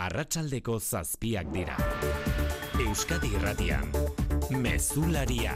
Arratsaldeko 7 dira. Euskadi Irratian, Mezularia.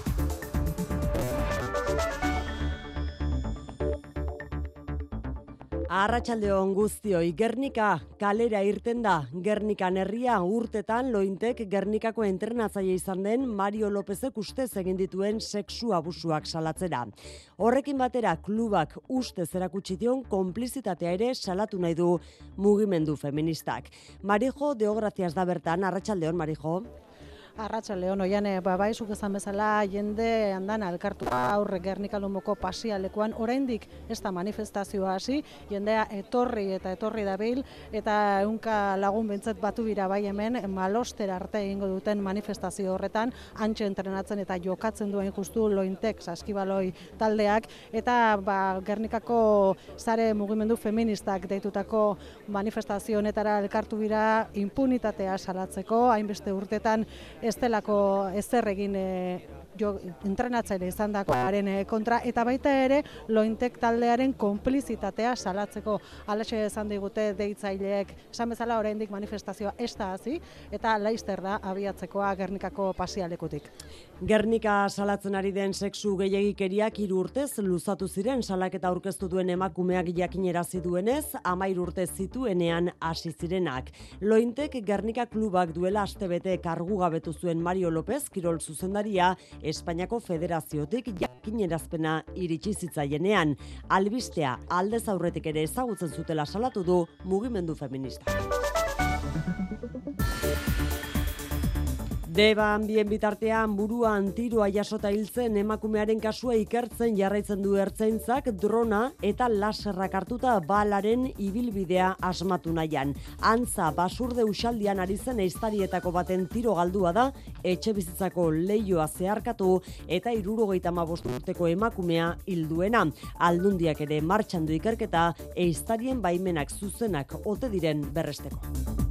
Arratsaldeon guztioi, Gernika kalera irten da. Gernikan herria urtetan Lointek Gernikako entrenatzaile izan den Mario Lopezek ustez egin dituen sexu abusuak salatzera. Horrekin batera klubak ustez erakutsi dion konplizitatea ere salatu nahi du mugimendu feministak. Marijo Deograzias da bertan. Arratsaldeon, Marijo. Arratsaldeon, Oiane, bai zuk esan bezala jende andan elkartu aurre Gernika Lumoko pasialekuan oraindik ez da manifestazioa hasi, jendea etorri dabil eta ehunka lagun bentzat batu dira bai hemen Malostera arte egingo duten manifestazio horretan, hantxe entrenatzen eta jokatzen duen justu Lointek saskibaloi taldeak eta Gernikako sare mugimendu feministak deitutako manifestazio honetara elkartu dira impunitatea salatzeko, hainbeste urtetan ez delako ezer egin entrenatzaile izandakoaren kontra eta baita ere Lointek taldearen konplizitatea salatzeko. Halaxe esan digute deitzaileek, esan bezala oraindik manifestazioa ez da hasi eta laster da abiatzekoa Gernikako pasialekutik. Gernika salatzen ari den sexu gehiegikeriak 3 urtez luzatu ziren salaketa aurkeztu duen emakumeak jakinerazi duenez, 13 urte zituenean hasi zirenak. Lointek Gernika klubak duela astebete kargugabetu zuen Mario Lopez kirol zuzendaria Espainiako Federaziotik jakinerazpena iritsi zitzaienean. Albistea aldez aurretik ere ezagutzen zutela salatu du mugimendu feminista. Deban bien bitartean buruan tiroa jasota hiltzen emakumearen kasua ikertzen jarraitzen du ertzaintzak drona eta laserrak hartuta balaren ibilbidea asmatu nahian. Antza basurde usaldian ari zen ehiztarietako baten tiro galdua da, etxebizitzako leihoa zeharkatu eta 75 urteko emakumea hilduena. Aldundiak ere martxan du ikerketa ehiztarien baimenak zuzenak ote diren berresteko.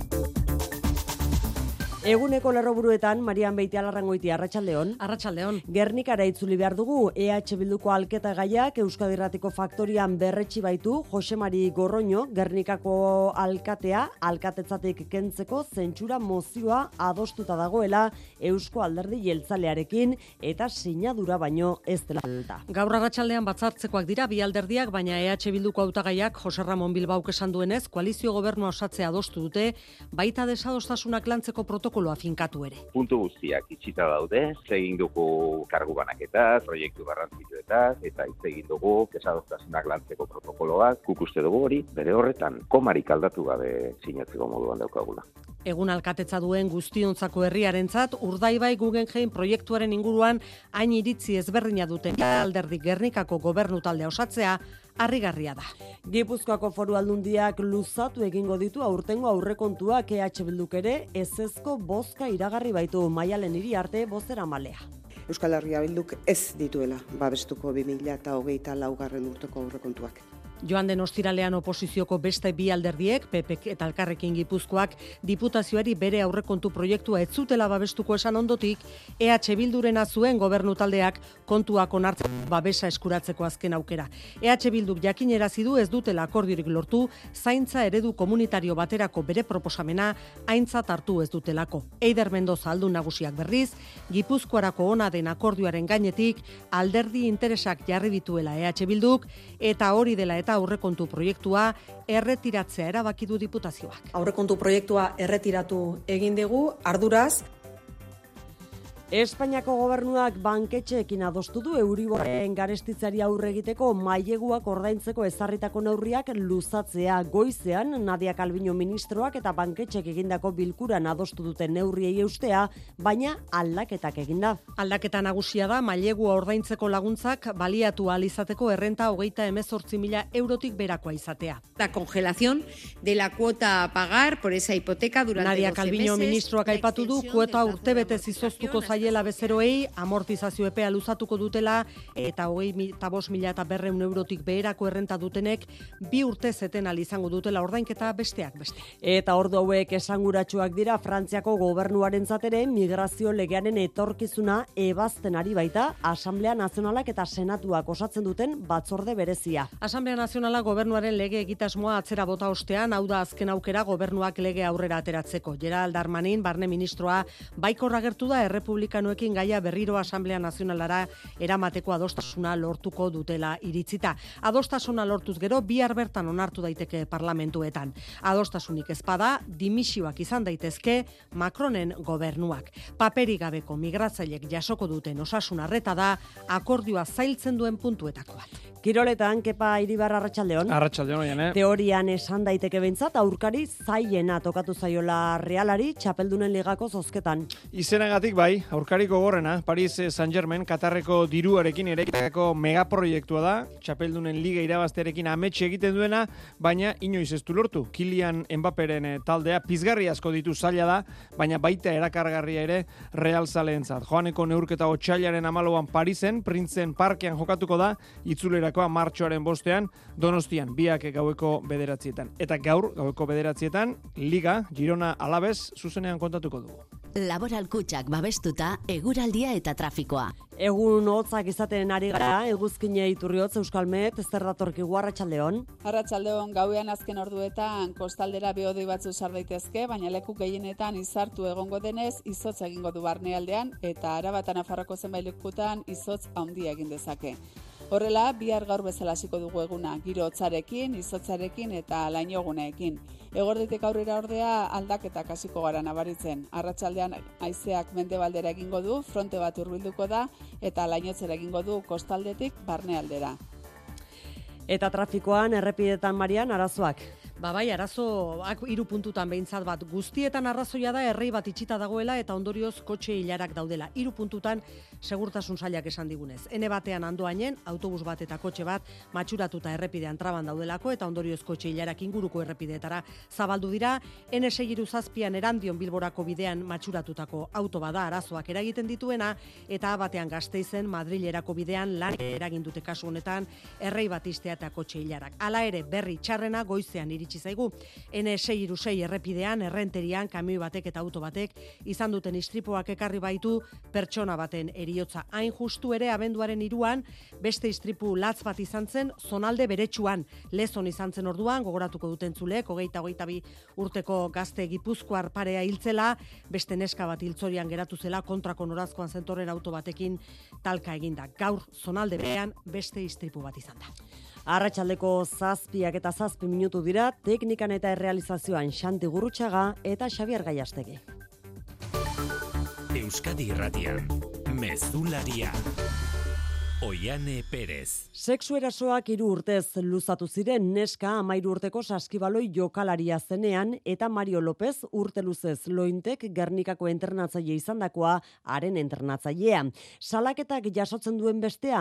Eguneko lerroburuetan, Marian Beitialarrangoitia, arratsaldeon. Arratsaldeon. Gernikara itzuli behar dugu, EH Bilduko alketa gaiak Euskadi Irratiko faktorian berretsi baitu Jose Mari Gorroño, Gernikako alkatea, alkatetzatik kentzeko zentsura mozioa adostuta dagoela Eusko Alderdi Jeltzalearekin eta sinadura baino ez dela alta. Gaur arratsaldean batzartzekoak dira bi alderdiak, baina EH Bilduko hautagaiak Jose Ramon Bilbauk esan duenez, koalizio gobernua osatzea adostu dute, baita desadostasunak lantzeko protokoloa finkatu ere. Puntu guztiak itxita daude, egin dugu kargu banaketaz, proiektu garrantzitsuetaz, eta egin dugu desadostasunak lantzeko protokoloak, guk uste dugu hori, bere horretan, komarik aldatu gabe sinatzeko moduan daukagula. Egun alkatetza duen guztiontzako herriarentzat, Urdaibai Guggenheim proiektuaren inguruan hain iritzi ezberdina duten alderdi Gernikako gobernu taldea osatzea, harrigarria da. Gipuzkoako Foru Aldundiak luzatu egingo ditu aurtengo aurrekontuak EH Bilduk ere ezezko bozka iragarri baitu Maialen Iriarte bozeramaileak. Euskal Herria Bilduk ez dituela babestuko 2024 urteko aurrekontuak. Joan den ostiralean oposizioko beste bi alderdiek, PP eta Elkarrekin Gipuzkoak, diputazioari bere aurrekontu proiektua ez zutela babestuko esan ondotik, EH Bildurena zuen gobernu taldeak kontuak onartzen babesa eskuratzeko azken aukera. EH Bilduk jakinerazi du ez dutela akordiorik lortu, zaintza eredu komunitario baterako bere proposamena aintzat hartu ez dutelako. Eider Mendoza aldun nagusiak berriz, Gipuzkoarako ona den akordioaren gainetik alderdi interesak jarri dituela EH Bilduk eta hori dela eta aurrekontu proiektua erretiratzea erabaki du diputazioak. Aurrekontu proiektua erretiratu egin dugu, arduraz. Espainiako gobernuak banketxeekin adostu du Euriborren garestitzari aurre egiteko maileguak ordaintzeko ezarritako neurriak luzatzea. Goizean Nadia Calviño ministroak eta banketxeek egindako bilkuran adostu duten neurriei eustea, baina aldaketak eginda. Aldaketa nagusia da mailegua ordaintzeko laguntzak baliatu ahal izateko errenta 38.000 eurotik berakoa izatea. La congelación de la cuota a pagar por esa hipoteca durante 12 meses. Nadia Calviño ministroak aipatu du kuota urtebetez izoztuko zaio zaiela bezeroei, amortizazio epea luzatuko dutela, eta 25.200 eurotik beherako errenta dutenek 2 urte zeten izango dutela ordainketa besteak beste. Eta ordu hauek esanguratsuak dira Frantziako gobernuarentzat ere migrazio legearen etorkizuna ebazten ari baita Asamblea Nazionalak eta Senatuak osatzen duten batzorde berezia. Asamblea Nazionala gobernuaren lege egitasmoa atzera bota ostean, hau da azken aukera gobernuak lege aurrera ateratzeko. Gerald Darmanin, barne ministroa, baikor agertu da errepublikanoekin gaia berriro Asamblea Nazionalara eramateko adostasuna lortuko dutela iritzita. Adostasuna lortuz gero, bihar bertan onartu daiteke parlamentuetan. Adostasunik ezpada, dimisioak izan daitezke Macronen gobernuak. Paperik gabeko migratzailek jasoko duten osasun arreta da akordioa zailtzen duen puntuetako bat. Kiroletan, Kepa Iribar, arratsaldeon. Arratsaldeon, oian, Teorian esan daiteke behintzat, aurkari zailena tokatu zaiola Realari txapeldunen ligako zozketan. Izenagatik bai, aurkari gogorrena, Paris Saint-Germain, Katarreko diruarekin eraikitako megaproiektua da, txapeldunen liga irabaztearekin ametxe egiten duena, baina inoiz ez du lortu. Kylian Mbapperen taldea pizgarri asko ditu zaila da, baina baita erakargarria ere Real zaleentzat. Joaneko neurketa otsailaren 14an Parisen, Printzen Parkean jokatuko da, itzulera martxoaren 5ean, Donostian, biak gaueko 9etan. Eta gaur, gaueko 9etan, Liga, Girona Alaves, zuzenean kontatuko dugu. Laboral Kutxak babestuta, eguraldia eta trafikoa. Egun hotzak izaten ari gara, eguzkine iturriotz Euskalmet, zer datorkigu arratsaldeon? Arratsaldeon, gauean azken orduetan kostaldera behodei batzu sar daitezke, baina leku gehienetan izartu egongo denez, izotz egingo du barnealdean, eta Araba eta Nafarroako zenbait lekutan izotz handia egin dezake. Horrela, bihar gaur bezala hasiko dugu eguna, giro hotzarekin, izotzarekin eta lainoguneekin. Egorditik aurrera ordea aldaketak hasiko gara nabaritzen. Arratsaldean haizeak mendebaldera egingo du, fronte bat hurbilduko da eta lainotzera egingo du kostaldetik barnealdera. Eta trafikoan errepidetan, Marian, arazoak? Bai, arazoak 3 puntutan behintzat bat. Guztietan arrazoia da errei bat itxita dagoela eta ondorioz kotxe ilarak daudela. 3 puntutan segurtasun sailak esan digunez. Ene batean Andoainen, autobus bat eta kotxe bat matxuratuta errepidean traban daudelako eta ondorioz kotxe ilarak inguruko errepideetara zabaldu dira. N607an Erandion Bilborako bidean matxuratutako auto bada arazoak eragiten dituena eta batean Gasteizen Madrilerako bidean lan eragin dute kasu honetan errei bat ixtea eta kotxe ilarak. Hala ere, berri txarrena goizean iritsi zaigu. N606 errepidean, errenterian, kamioi batek eta auto batek izan duten istripuak ekarri baitu pertsona baten heriotza. Hain justu ere abenduaren 3an beste istripu latz bat izan zen zonalde beretsuan. Lezon izan zen orduan, gogoratuko duten zulek, 22 urteko gazte gipuzkoar parea hiltzela, beste neska bat hiltzorian geratu zela kontrako norazkoan zentorren auto batekin talka eginda. Gaur zonalde berean beste istripu bat izan da. Arratsaldeko 7 eta 7 minutu dira, teknikan eta errealizazioan Xanti Gurrutxaga eta Xabier Gaiastegi. Euskadi Irratian, Mezularia. Oiane Perez. Sexu erasoak 3 urtez luzatu ziren neska 13 urteko saskibaloi jokalaria zenean eta Mario López urte luzez Lointek Gernikako entrenatzaile izandakoa haren entrenatzailea. Salaketak jasotzen duen bestea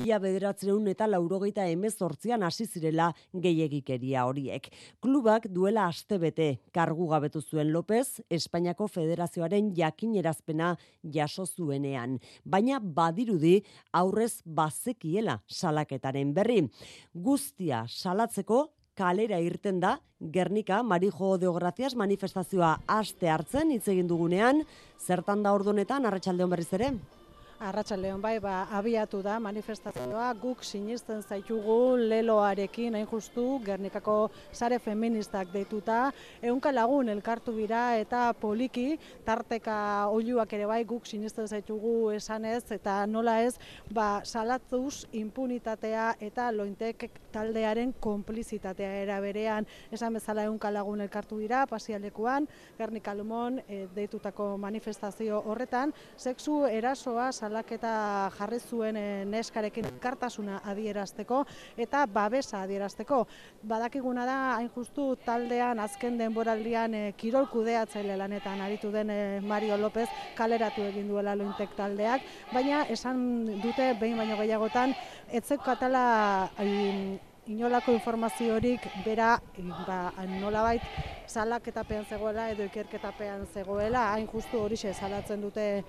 1988an hasi zirela gehiegikeria horiek. Klubak duela astebete kargu gabetu zuen López Espainiako Federazioaren jakinerazpena jaso zuenean, baina badirudi aurrez bazekiela salaketaren berri. Guztia salatzeko kalera irten da Gernika Marijo de Gracias manifestazioa aste hartzen hitz egin dugunean, zertan da ordunetan arratsaldeon berriz ere? Arratsaldeon bai, abiatu da manifestazioa, guk sinisten zaitugu leloarekin, hain justu, Gernikako sare feministak deituta, 100 lagun elkartu bira eta poliki, tarteka oiluak ere bai, guk sinisten zaitugu esanez, eta nola ez, salatzuz impunitatea eta Lointek taldearen konplizitatea era berean, esan bezala 100 lagun elkartu dira, pasialekuan, Gernika Lumon deitutako manifestazio horretan, sexu erasoa salaketa jarri zuen neskarekin elkartasuna adierazteko eta babesa adierazteko. Badakiguna da, hain justu taldean azken denboraldian kirol kudeatzaile lanetan aritu den Mario López kaleratu egin duela Lointek taldeak, baina esan dute behin baino gehiagotan etzekatala inolako informaziorik bera nolabait salaketapean zegoela edo ikerketapean zegoela, hain justu horixe salatzen dute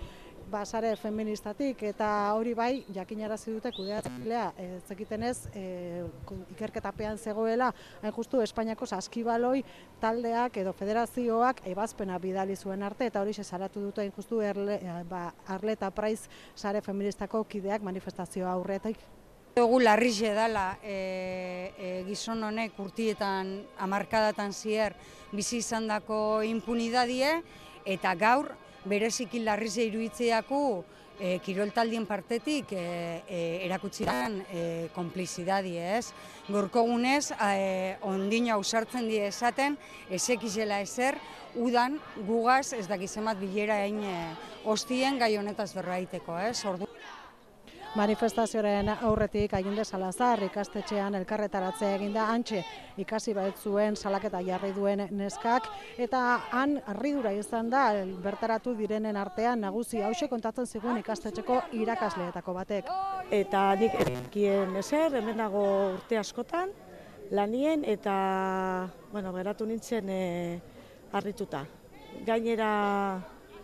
sare feministatik, eta hori bai, jakinarazi dute kudeatzailea, zekitenez, ikerketapean zegoela, hain justu Espainiako saskibaloi taldeak edo federazioak ebazpena bidali zuen arte, eta hori salatu dute hain justu Arleta Praiz sare feministako kideak manifestazioa aurretik. Dugu larrixe dela gizon honek urtietan, hamarkadatan zier bizi izandako impunidadie, eta gaur bereziki larrixe iruitzeaku kiroltaldien partetik erakutsi dan konplizidadie, ez? Gorko gunez, ondino ausartzen die esaten, ezekizela ezer, udan gugaz ez dakizemat bilera egin hostien gai honetaz berraiteko, ez? Manifestazioaren aurretik Aginde Salazar ikastetxean elkarretaratzea eginda, hantxe ikasi zuen salaketa jarri duen neskak, eta han harridura izan da bertaratu direnen artean nagusi hauxe kontatzen zigun ikastetxeko irakasleetako batek. Eta nik ekien ezer, hemen dago urte askotan, lanien, eta geratu nintzen harrituta. Gainera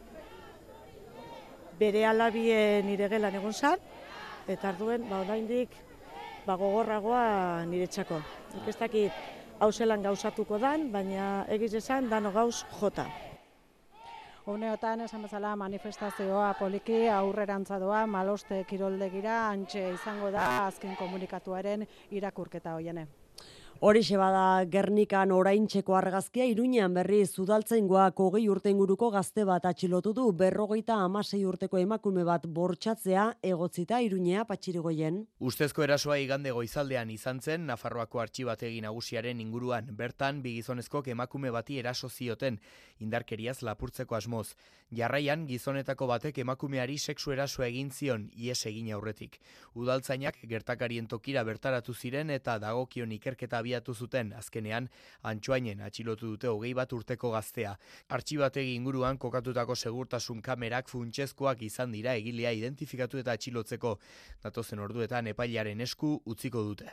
bere alabien nire gelan egon zan, eta arduen, oraindik gogorragoa niretzako. Nik ez dakit hau zelan gauzatuko dan, baina egiz esan dano gauz jota. Uneotan, esan bezala, manifestazioa poliki aurrerantza doa, Maloste kiroldegira, hantxe izango da azken komunikatuaren irakurketa hoiene. Horixe bada Gernikan oraintxeko argazkia, Iruñean berriz udaltzaingoak 20 urte inguruko gazte bat atxilotu du, 56 urteko emakume bat bortxatzea egotzita Iruñea Patxirigoien. Ustezko erasoa igande goizaldean izan zen Nafarroako artxibategi nagusiaren inguruan. Bertan, bi gizonezkok emakume bati eraso zioten, indarkeriaz lapurtzeko asmoz. Jarraian, gizonetako batek emakumeari sexu erasoa egin zion, ihes egin aurretik. Udaltzainak gertakarien tokira bertaratu ziren eta dagokion ikerketa abiatu zuten, azkenean Antsoainen atxilotu dute 21 urteko gaztea. Artxibategi inguruan kokatutako segurtasun kamerak funtsezkoak izan dira egilea identifikatu eta atxilotzeko. Datozen orduetan epailearen esku utziko dute.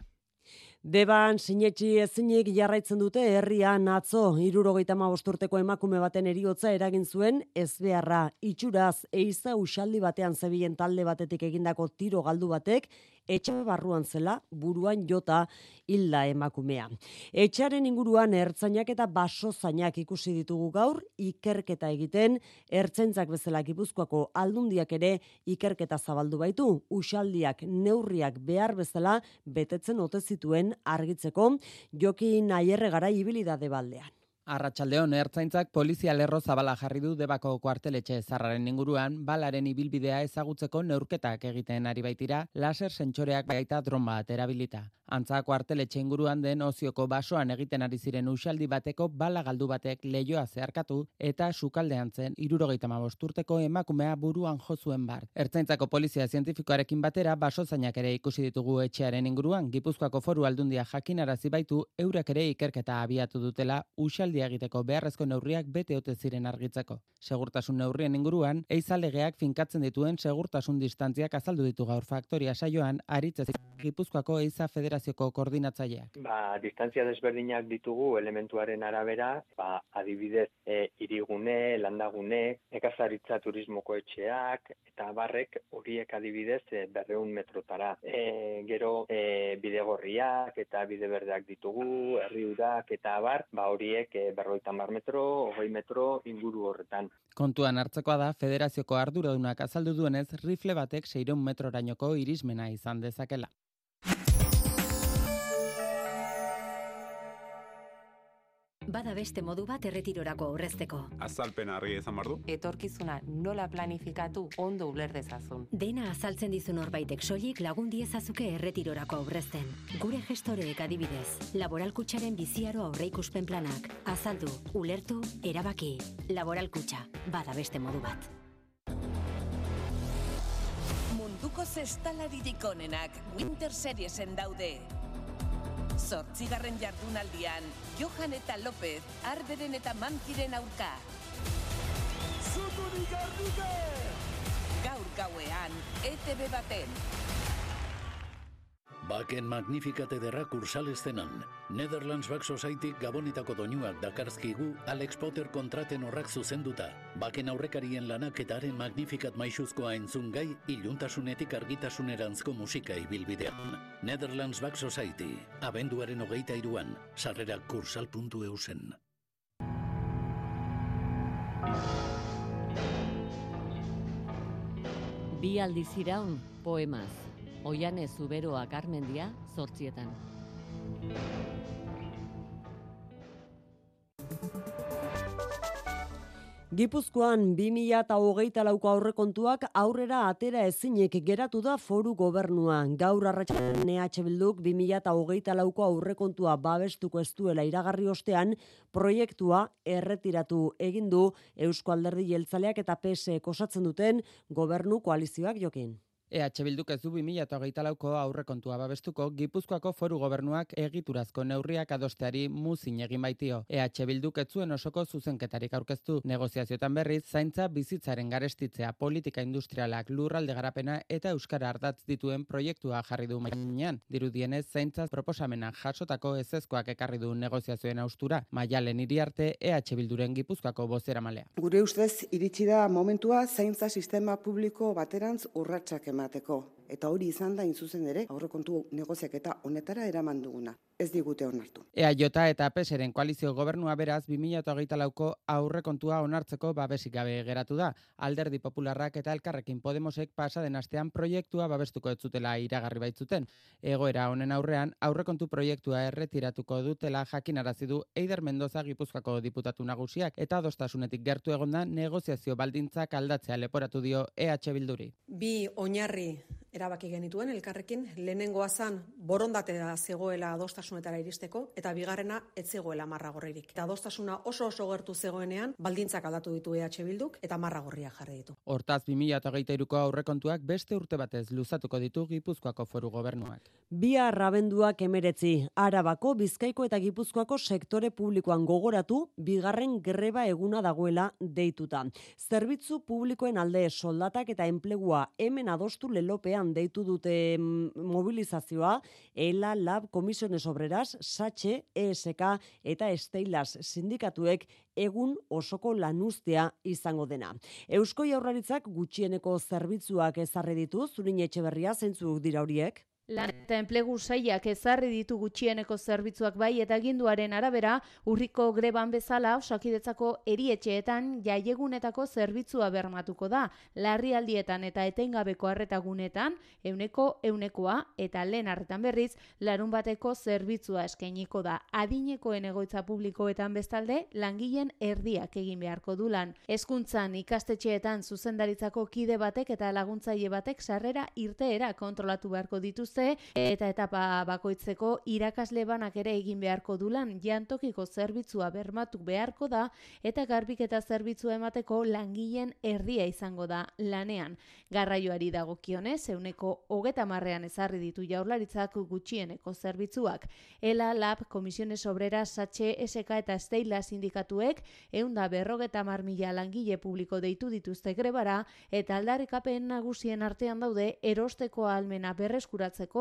Deban sinetxi ezinik jarraitzen dute herrian atzo 75 urteko emakume baten heriotza eragin zuen ezbeharra. Itxuraz eiza uxaldi batean zebilen talde batetik egindako tiro galdu batek etxe barruan zela buruan jota hilda emakumea. Etxearen inguruan ertzainak eta basozainak ikusi ditugu gaur ikerketa egiten, ertzaintzak bezala Gipuzkoako Aldundiak ere ikerketa zabaldu baitu, uxaldiak neurriak behar bezala betetzen ote zituen argitzeko. Jokin Aierre Garai ibilidade baldean. Arratsaldeon, ertzaintzak polizia lerro zabala jarri du Debako kuarteletxe zarraren inguruan, balaren ibilbidea ezagutzeko neurketak egiten ari baitira, laser sentsoreak baita dron bat erabilita. Antza kuarteletxe inguruan den Ozioko basoan egiten ari ziren uxaldi bateko bala galdu batek leihoa zeharkatu eta sukaldean zen 75 urteko emakumea buruan jo zuen bart. Ertzaintzako polizia zientifikoarekin batera basozainak ere ikusi ditugu etxearen inguruan. Gipuzkoako Foru Aldundia jakinarazi baitu eurek ere ikerketa abiatu dutela uxaldi egiteko beharrezko neurriak bete ote ziren argitzeko. Segurtasun neurrien inguruan, eizalegeak finkatzen dituen segurtasun distantziak azaldu ditu gaur Faktoria saioan Aritzez Gipuzkoako Eiza Federazioko koordinatzaileak. Distantzia desberdinak ditugu elementuaren arabera, adibidez hirigune, landagune, nekazaritza turismoko etxeak eta barrek horiek adibidez 200 metrotara. Gero bidegorriak eta bide berdeak ditugu, herriurak eta abar, horiek 50 metro, 20 metro inguru horretan. Kontuan hartzekoa da, federazioko arduradunak azaldu duenez, rifle batek 600 metrorainoko irismena izan dezakela. Bada beste modu bat erretirorako aurrezteko. Azalpena argi izan behar du. Etorkizuna nola planifikatu ondo uler dezazun. Dena azaltzen dizu norbaitek soilik lagun diezazuke erretirorako aurrezten. Gure gestoreek adibidez, Laboral Kutxaren biziaro aurreikuspen planak. Azaldu, ulertu, erabaki. Laboral Kutxa, bada beste modu bat. Munduko zestalaririk onenak Winter Seriesen daude. 8. jardunaldian, Johan eta López, Arberen eta Mankiren aurka. Zuturik ardike! Gaur gauean, ETV baten. Baken Magnificat ederra kursalestenan. Netherlands Back Society Gabonetako doinuak dakarzkigu Alex Potter kontraten horrak zuzenduta. Baken aurrekarien lanak eta haren Magnificat maixuzkoa entzun gai, iluntasunetik argitasunerantzko musika ibilbidean. Netherlands Back Society, abenduaren 23an, sarrerak kursal.eu zen. Bi aldiz iraun, poemaz. Oiane Zuberoa Garmendia, 8:00. Gipuzkoan 2024ko aurrekontuak aurrera atera ezinik geratu da foru gobernua. Gaur arratsaldean EH Bilduk 2024ko aurrekontua babestuko ez duela iragarri ostean, proiektua erretiratu egin du Eusko Alderdi Jeltzaleak eta PSek osatzen duten gobernu koalizioak Jokin. EH Bilduk ez du 2024ko aurrekontua babestuko, Gipuzkoako foru gobernuak egiturazko neurriak adosteari muzin egin baitio. EH Bilduk ez zuen osoko zuzenketarik aurkeztu. Negoziazioetan berriz, zaintza bizitzaren garestitzea, politika industrialak, lurralde garapena eta euskara ardatz dituen proiektua jarri du mainean. Dirudienez, zaintza proposamena jasotako ezezkoak ekarri du negoziazioen austura. Maialen Iriarte, EH Bilduren Gipuzkoako bozeramalea. Gure ustez iritsi da momentua zaintza sistema publiko baterantz urratsak emateko. Eta hori izan da zuzen ere aurrekontu negoziaketa honetara eraman duguna. Ez digute onartu. EAJ eta PSren koalizio gobernua beraz 2024ko aurrekontua onartzeko babesik gabe geratu da. Alderdi Popularrak eta Elkarrekin Podemosek pasaden astean proiektua babestuko ez zutela iragarri baitzuten. Egoera honen aurrean aurrekontu proiektua erretiratuko dutela jakinarazi du Eider Mendoza Gipuzkoako diputatu nagusiak eta adostasunetik gertu egonda negoziazio baldintzak aldatzea leporatu dio EH Bilduri. Bi oinarri erabaki genituen Elkarrekin, lehenengoa zan borondatea zegoela adostasunetara iristeko eta bigarrena ez zegoela marragorririk. Eta adostasuna oso gertu zegoenean baldintzak aldatu ditu EH Bilduk eta marragorria jarri ditu. Hortaz 2023ko aurrekontuak beste urte batez luzatuko ditu Gipuzkoako foru gobernuak. Bihar abenduak 19, Arabako, Bizkaiko eta Gipuzkoako sektore publikoan gogoratu, bigarren greba eguna dagoela deituta. Zerbitzu publikoen alde soldatak eta enplegua hemen adostu lelopean deitu dute mobilizazioa, ELA, LAB, Komisiones Obreras, SATXE, ESK eta Esteilas sindikatuek egun osoko lanuztea izango dena. Eusko Jaurlaritzak gutxieneko zerbitzuak ezarri ditu, Zurin Etxeberria, zeintzuk dira horiek? Lan eta enplegu sailak ezarri ditu gutxieneko zerbitzuak bai eta aginduaren arabera urriko greban bezala Osakidetzako erietxeetan jaiegunetako zerbitzua bermatuko da. Larrialdietan eta etengabeko arretagunetan 100%koa eta lehen arretan berriz larunbateko zerbitzua eskainiko da. Adinekoen egoitza publikoetan bestalde langileen erdiak egin beharko du lan. Hezkuntzan ikastetxeetan zuzendaritzako kide batek eta laguntzaile batek sarrera irteera kontrolatu beharko dituzte eta etapa bakoitzeko irakasle banak ere egin beharko dulan jantokiko zerbitzua bermatu beharko da eta garbiketa zerbitzua emateko langileen erdia izango da lanean. Garraioari dagokionez 130ean ezarri ditu Jaurlaritzak gutxieneko zerbitzuak. ELA, LAB, Komisiones Obreras, SATXE, ESK eta Esteilas sindikatuek 150.000 langile publiko deitu dituzte grebara eta aldarrikapen nagusien artean daude erosteko ahalmena berreskuratzeko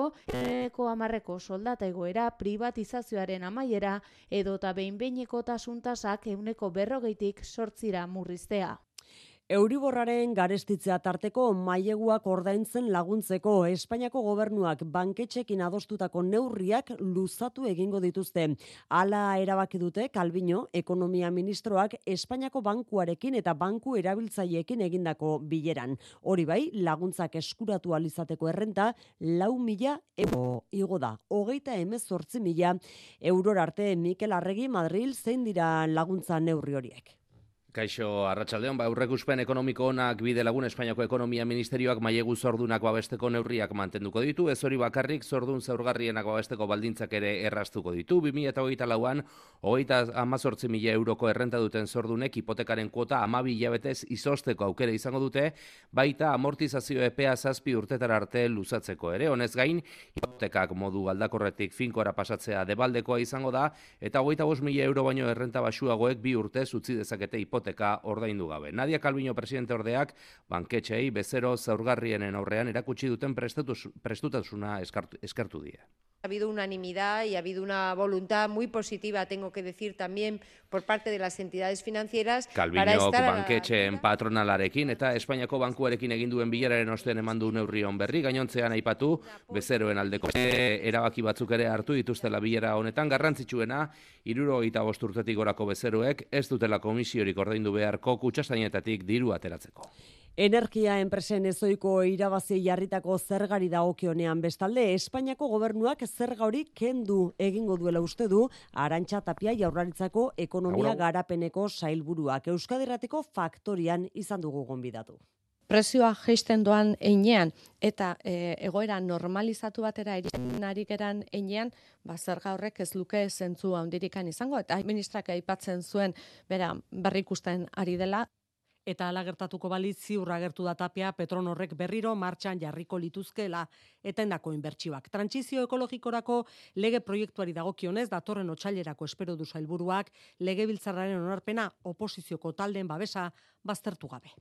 10% soldata egoera, privatizazioaren amaiera edota behin-behineko tasuntasak 140tik 8 murriztea. Euriborraren garestitzea tarteko maileguak ordaintzen laguntzeko Espainiako gobernuak banketxekin adostutako neurriak luzatu egingo dituzte. Hala erabaki dute Calviño, ekonomia ministroak Espainiako bankuarekin eta banku erabiltzaileekin egindako bileran. Hori bai, laguntzak eskuratu alizateko errenta 4.000 euro igo da. 38.000 eurora arte. Mikel Arregi, Madril, zein dira laguntza neurri horiek? Kaixo, arratsaldeon, aurreikuspen ekonomiko onak bide lagun Espainiako Ekonomia Ministerioak mailegu zordunak babesteko neurriak mantenduko ditu, ez hori bakarrik zordun zaurgarrienak babesteko baldintzak ere erraztuko ditu. 2024an 18.000 euroko errenta duten zordunek hipotekaren kuota 12 hilabetez izosteko aukera izango dute, baita amortizazio epea 7 urtetara arte luzatzeko ere. Honez gain, hipotekak modu aldakorretik finkora pasatzea debaldekoa izango da, eta 25.000 euro baino errenta baxuagoek 2 urtez utzi dezakete hipotekaren hipoteka ordaindu gabe. Nadia Calviño presidente ordeak banketxeei bezero zaurgarrienen aurrean erakutsi duten prestutasuna eskertu die. Ha habido unanimidad y ha habido una voluntad muy positiva, tengo que decir también, por parte de las entidades financieras. Calviñok banketxeen patronalarekin eta Espainiako bankuarekin egin duen bileraren ostean eman du neurrion berri, gainontzean aipatu bezeroen aldeko erabaki batzuk ere hartu dituztela bilera honetan, garrantzitsuena 75 urtetik gorako bezeroek ez dutela komisiorik ordaindu beharko kutxazainetatik diru ateratzeko. Energia enpresen ezoiko irabazi jarritako zergari dagokionean bestalde, Espainiako gobernuak zerga hori kendu egingo duela uste du Arantxa Tapia Jaurlaritzako ekonomia garapeneko sailburuak. Euskadi Irratiko Faktorian izan dugu gonbidatu. Prezioa jaisten doan heinean eta egoera normalizatu batera iristen ari geran heinean, zerga horrek ez luke zentzu handirikan izango, eta ministrak aipatzen zuen berrikusten ari dela. Eta ala gertatuko balitz ziur agertu da Tapia Petronorrek berriro martxan jarriko lituzkeela etendako inbertsioak. Trantsizio ekologikorako lege proiektuari dagokionez datorren otsailerako espero du sailburuak legebiltzarraren onarpena oposizioko taldeen babesa baztertu gabe.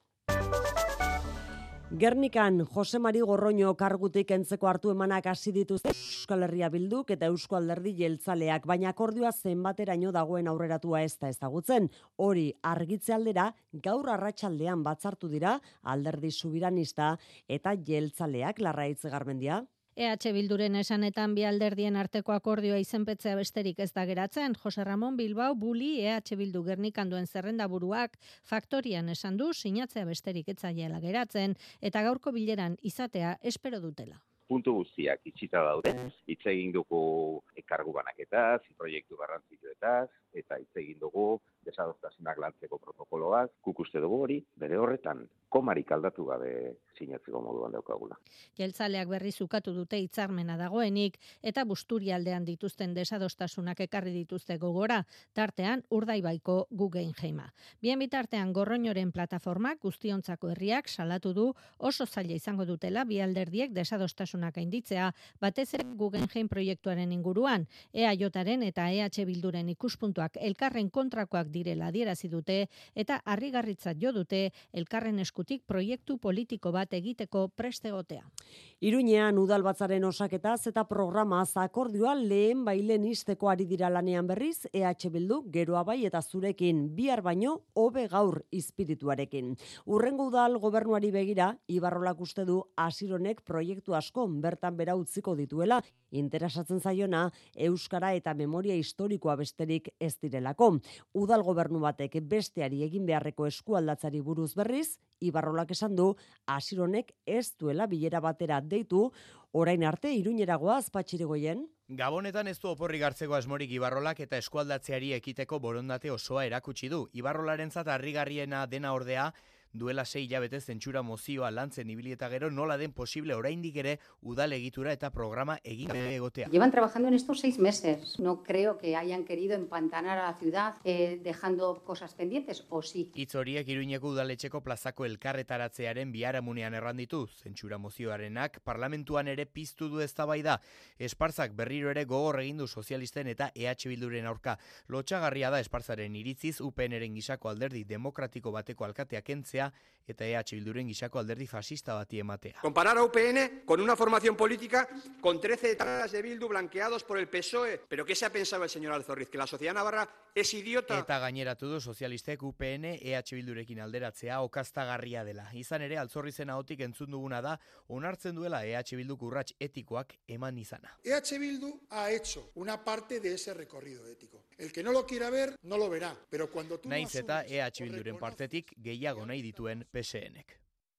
Gernikan Jose Mari Gorroño kargutik entzeko hartu emanak hasi dituzte Euskal Herria Bilduk eta Eusko Alderdi Jeltzaleak, baina akordioa zenbateraino dagoen aurreratua ez da ezagutzen. Hori argitze aldera gaur arratsaldean batzartu dira Alderdi Soberanista eta Jeltzaleak. Larraitz Garmendia. EH Bilduren esanetan bi alderdien arteko akordioa izenpetzea besterik ez da geratzen. Jose Ramon Bilbao Buli EH Bildu Gernikan duen zerrendaburuak Faktorian esan du sinatzea besterik ez zaiela geratzen eta gaurko bileran izatea espero dutela. Puntu guztiak itxita daude, hitz egin dugu kargu banaketaz, proiektu garrantzitsuetaz, eta hitz egin dugu desadostasunak lantzeko protokoloaz, guk uste dugu hori, bere horretan, komarik aldatu gabe sinatzeko moduan daukagula. Jeltzaleak berriz ukatu dute hitzarmena dagoenik, eta Busturialdean dituzten desadostasunak ekarri dituzte gogora, tartean Urdaibaiko Guggenheima. Bien bitartean Gorroñoren plataformak guztiontzako herriak salatu du oso zaila izango dutela bi alderdiek desadostasunak gainditzea, batez ere Guggenheim proiektuaren inguruan, EAJaren eta EH Bilduren ikuspuntuak elkarren kontrakoak direla adierazi dute eta harrigarritzat jo dute elkarren eskutik proiektu politiko bat egiteko prest egotea. Iruñean udalbatzaren osaketaz eta programaz akordioa lehen bailen isteko ari dira lanean berriz, EH Bildu geroa bai eta zurekin bihar baino hobe gaur izpirituarekin. Urrengo udal gobernuari begira, Ibarrolak uste du Asironek proiektu asko bertan bera utziko dituela, interesatzen zaiona euskara eta memoria historikoa besterik ez direlako. Udal gobernu batek besteari egin beharreko eskualdatzari buruz berriz, Ibarrolak esan du Asironek ez duela bilera batera deitu, orain arte Iruñeragoaz Patxiregoien. Gabonetan ez du oporrik hartzeko asmorik Ibarrolak eta eskualdatzeari ekiteko borondate osoa erakutsi du. Ibarrolarentzat harrigarriena dena ordea, duela 6 hilabete zentsura mozioa lantzen ibili eta gero nola den posible oraindik ere udal egitura eta programa egin gabe egotea. Llevan trabajando en estos 6 meses. No creo que hayan querido empantanar a la ciudad dejando cosas pendientes, o sí. Hitz horiek Iruñeko udaletxeko plazako elkarretaratzearen biharamunean erranditu. Zentsura mozioarenak parlamentuan ere piztu du eztabaida. Espartzak berriro ere gogor egin du sozialisten eta EH Bilduren aurka. Lotsagarria da Espartzaren iritziz UPNren gisako alderdi demokratiko bateko alkatea kentzea eta EH Bilduren gisako alderdi fascista bati ematea. Comparar a UPN con una formación política con 13 etapas de Bildu blanqueados por el PSOE. ¿Pero qué se ha pensado el señor Alzorriz? ¿Que la sociedad navarra es idiota? Eta gaineratu du sozialistek UPN EH Bildurekin alderatzea okaztagarria dela. Izan ere Alzorrizen ahotik entzun duguna da onartzen duela EH Bilduk urrats etikoak eman izana. EH Bildu ha hecho una parte de ese recorrido ético. El que no lo quiera ver, no lo verá. Pero cuando tú Naiz eta EH Bilduren partetik gehiago nahi dituen PSNek.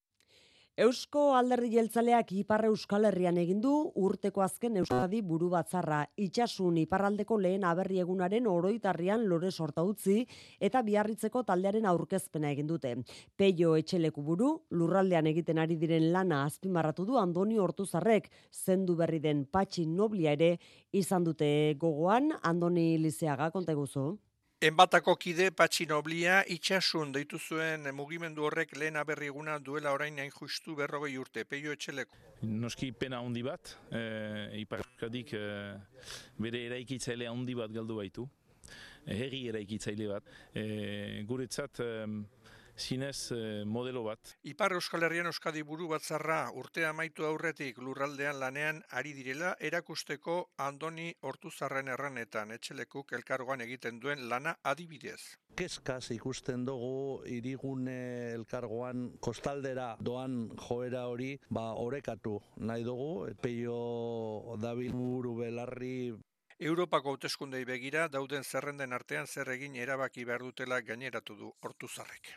Eusko Alderdi Jeltzaleak Ipar Euskal Herrian egin du urteko azken Euskadi buru batzarra. Itsasun iparraldeko lehen aberri egunaren oroitarrian lore sorta utzi eta Biarritzeko taldearen aurkezpena egin dute. Peio Etxeleku buru, lurraldean egiten ari diren lana azpimarratu du Andoni Ortuzarrek, zendu berri den Patxi Noblia ere izan dute gogoan. Andoni Lizeaga, konta eguzu. Enbatako kide Patxi Noblia itxasun deitu zuen mugimendu horrek lehen aberri eguna duela orain hain justu 40 urte, Peio Etxeleku. Noski pena handi bat, Ipar Euskadik bere eraikitzailea handi bat galdu baitu. herri eraikitzaile bat. Guretzat zinez modelo bat. Ipar Euskal Herrian Euskadi buru batzarra urtea amaitu aurretik lurraldean lanean ari direla erakusteko Andoni Ortuzarren erranetan etxelekuk elkargoan egiten duen lana adibidez. Kezkaz ikusten dugu hirigune elkargoan kostaldera doan joera hori orekatu nahi dugu, peio dabil buru belarri. Europako hauteskundei begira dauden zerrenden artean zer egin erabaki behar dutela gaineratu du Ortuzarrek.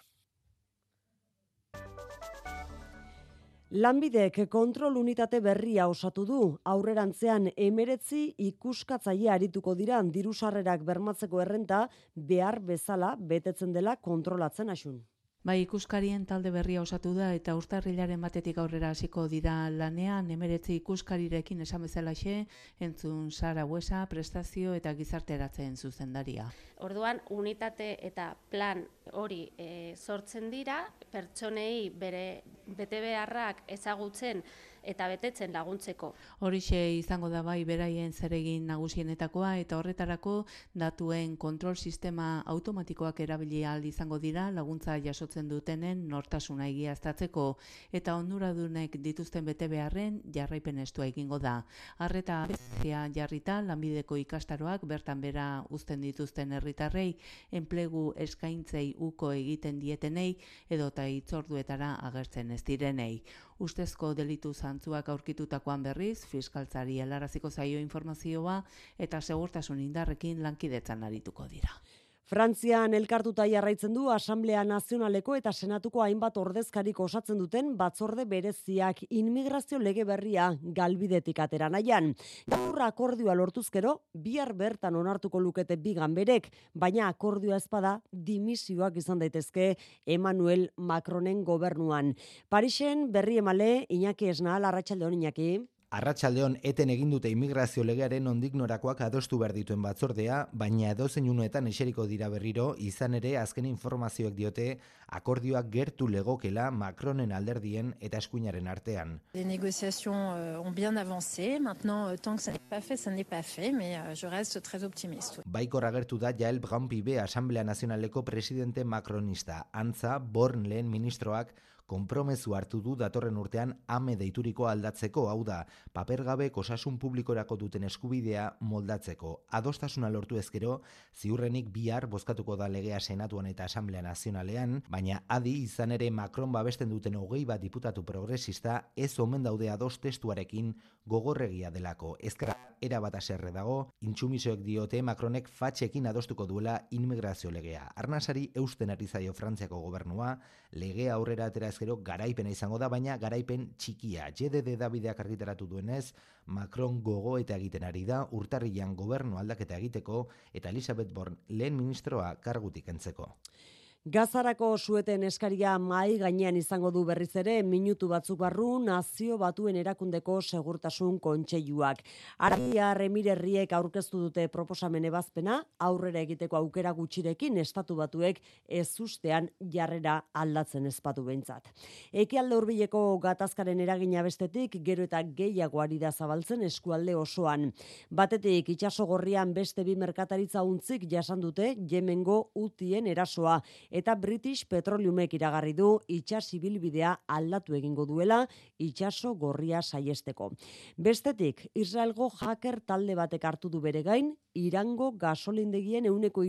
Lanbidek kontrol unitate berria osatu du. Aurrerantzean 19 ikuskatzaile arituko dira diru-sarrerak bermatzeko errenta behar bezala betetzen dela kontrolatzen asun. Bai, ikuskarien talde berria osatu da eta urtarrilaren batetik aurrera hasiko dira lanean 19 ikuskarirekin esan bezalaxe, entzun Sara Buesa, prestazio eta gizarteratzen zuzendaria. Orduan, unitate eta plan hori sortzen dira, pertsonei bere betebeharrak ezagutzen eta betetzen laguntzeko. Horixe izango da bai beraien zeregin nagusienetakoa eta horretarako datuen kontrol sistema automatikoak erabili ahal izango dira laguntza jasotzen dutenen nortasuna egiaztatzeko eta onuradunek dituzten betebeharren jarraipen estua egingo da. Arreta bezia jarrita lanbideko ikastaroak bertan bera uzten dituzten herritarrei enplegu eskaintzei uko egiten dietenei edota hitzorduetara agertzen ez direnei. Ustezko delitu zantzuak aurkitutakoan berriz, fiskaltzari helaraziko zaio informazioa eta segurtasun indarrekin lankidetzan arituko dira. Frantzian elkartuta jarraitzen du Asamblea Nazionaleko eta Senatuko hainbat ordezkarik osatzen duten batzorde bereziak inmigrazio lege berria galbidetik atera nahian. Gaur akordioa lortuzkero, bihar bertan onartuko lukete bi ganberek, baina akordioa ez bada dimisioak izan daitezke Emmanuel Macronen gobernuan. Parisen berri emale Iñaki Esnal, arratsaldeon Iñaki. Arratsaldeon eten egin dute immigrazio legearen nondik norakoak adostu behar dituen batzordea, baina edozein uneetan eseriko dira berriro, izan ere azken informazioek diote akordioak gertu legokela Macronen alderdien eta eskuinaren artean. Les négociations ont bien avancé. Maintenant, tant que ça n'est pas fait, ça n'est pas fait, mais je reste très optimiste. Baikor agertu da Jael Braun-Pivet Asamblea Nazionaleko presidente macronista. Antza, Born lehen ministroak konpromezu hartu du datorren urtean ame deituriko aldatzeko, hau da, papergabe osasun publikorako duten eskubidea moldatzeko. Adostasuna lortu ezkero, ziurrenik bihar bozkatuko da legea Senatuan eta Asamblea Nazionalean, baina adi izan ere Macron babesten duten 21 diputatu progresista ez omen daude ados testuarekin gogorregia delako. Ezkerra erabat haserre dago, intsumisoek diote Macronek fatxekin adostuko duela immigrazio legea. Arnasari eusten ari zaio Frantziako gobernua, legea aurrera atera ezkero garaipena izango da, baina garaipen txikia. JDD Davideak argitaratu duenez, Macron gogo eta egiten ari da urtarrilean gobernu aldaketa egiteko eta Elisabeth Born lehen ministroa kargutik kentzeko. Gazarako sueten eskaria mahai gainean izango du berriz ere minutu batzuk barru Nazio Batuen Erakundeko Segurtasun Kontseiluak. Arabiar Emirerriek aurkeztu dute proposamen ebazpena aurrera egiteko aukera gutxirekin Estatu Batuek ezustean jarrera aldatzen ezpatu behintzat. Ekialde hurbileko gatazkaren eragina bestetik gero eta gehiago ari da zabaltzen eskualde osoan. Batetik itsaso gorrian beste bi merkataritza untzik jasan dute Yemengo Hutien erasoa. Eta British Petroleumek iragarri du itsas ibilbidea aldatu egingo duela itsaso gorria saiesteko. Bestetik, Israelgo hacker talde batek hartu du bere gain Irango gasolindegien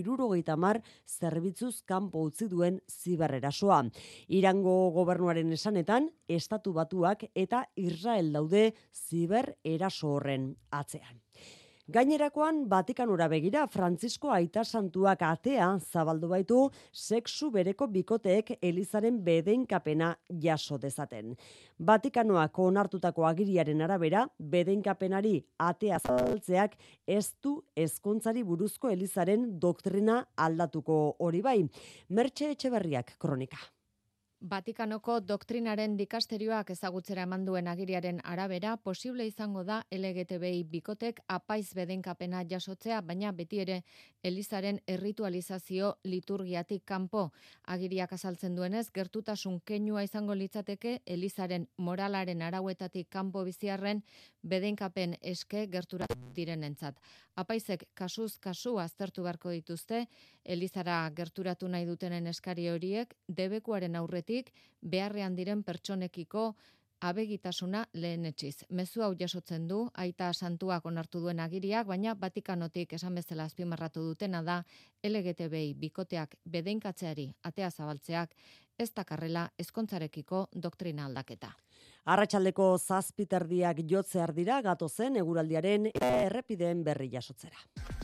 70% zerbitzuz kanpo utzi duen zibererasoa. Irango gobernuaren esanetan, Estatu Batuak eta Israel daude zibereraso horren atzean. Gainerakoan, Vatikanora begira, Frantzisko Aita Santuak atea zabaldu baitu sexu bereko bikoteek Elizaren bedeinkapena jaso dezaten. Vatikanoak onartutako agiriaren arabera, bedeinkapenari atea zabaltzeak ez du ezkontzari buruzko Elizaren doktrina aldatuko hori bai. Mertxe Etxeberriak kronika. Vatikanoko doktrinaren dikasterioak ezagutzera eman duen agiriaren arabera, posible izango da LGTBI bikotek apaiz bedeinkapena jasotzea, baina beti ere Elizaren erritualizazio liturgiatik kanpo. Agiriak azaltzen duenez, gertutasun keinua izango litzateke Elizaren moralaren arauetatik kanpo biziarren bedenkapen eske gerturatu direnentzat. Apaizek kasuz kasu aztertu beharko dituzte, elizara gerturatu nahi dutenen eskari horiek debekuaren aurretik beharrean diren pertsonekiko abegitasuna lehenetsiz. Mezu hau jasotzen du, aita santuak onartu duen agiriak, baina Vatikanotik esan bezala azpimarratu dutena da LGTBI bikoteak bedeinkatzeari atea zabaltzeak ez dakarrela ezkontzarekiko doktrina aldaketa. Arratsaldeko 7:00 jotzear dira gatozen eguraldiaren errepideen berri jasotzera.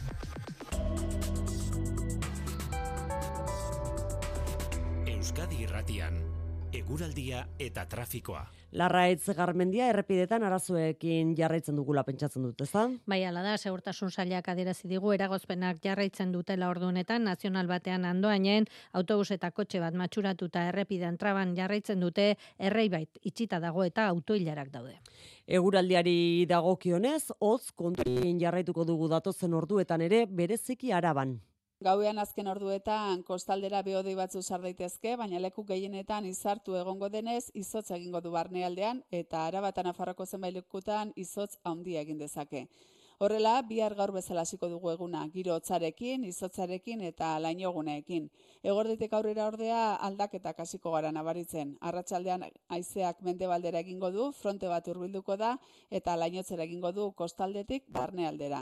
Euskadi Irratian, eguraldia eta trafikoa. Larraitz Garmendia errepidetan arazoekin jarraitzen dugula pentsatzen dut, ezta? Bai, hala da, Segurtasun Sailak adierazi digu eragozpenak jarraitzen dutela ordu honetan, nazional batean Andoainen autobus eta kotxe bat matxuratuta errepidean traban jarraitzen dute, Erreibait itxita dago eta autoilarak daude. Eguraldiari dagokionez, hotz kontuekin jarraituko dugu datozen orduetan ere bereziki Araban. Gauean azken orduetan kostaldera behodei batzu sar daitezke, baina leku gehienetan izartu egongo denez izotz egingo du barnealdean eta Araba eta Nafarroako zenbait lekutan izotz handia egin dezake. Horrela, bihar gaur bezala hasiko dugu eguna, giro hotzarekin, izotzarekin eta lainoguneekin. Eguerditik aurrera ordea aldaketak hasiko gara nabaritzen. Arratsaldean haizeak mendebaldera egingo du, fronte bat hurbilduko da eta lainotzera egingo du kostaldetik barnealdera.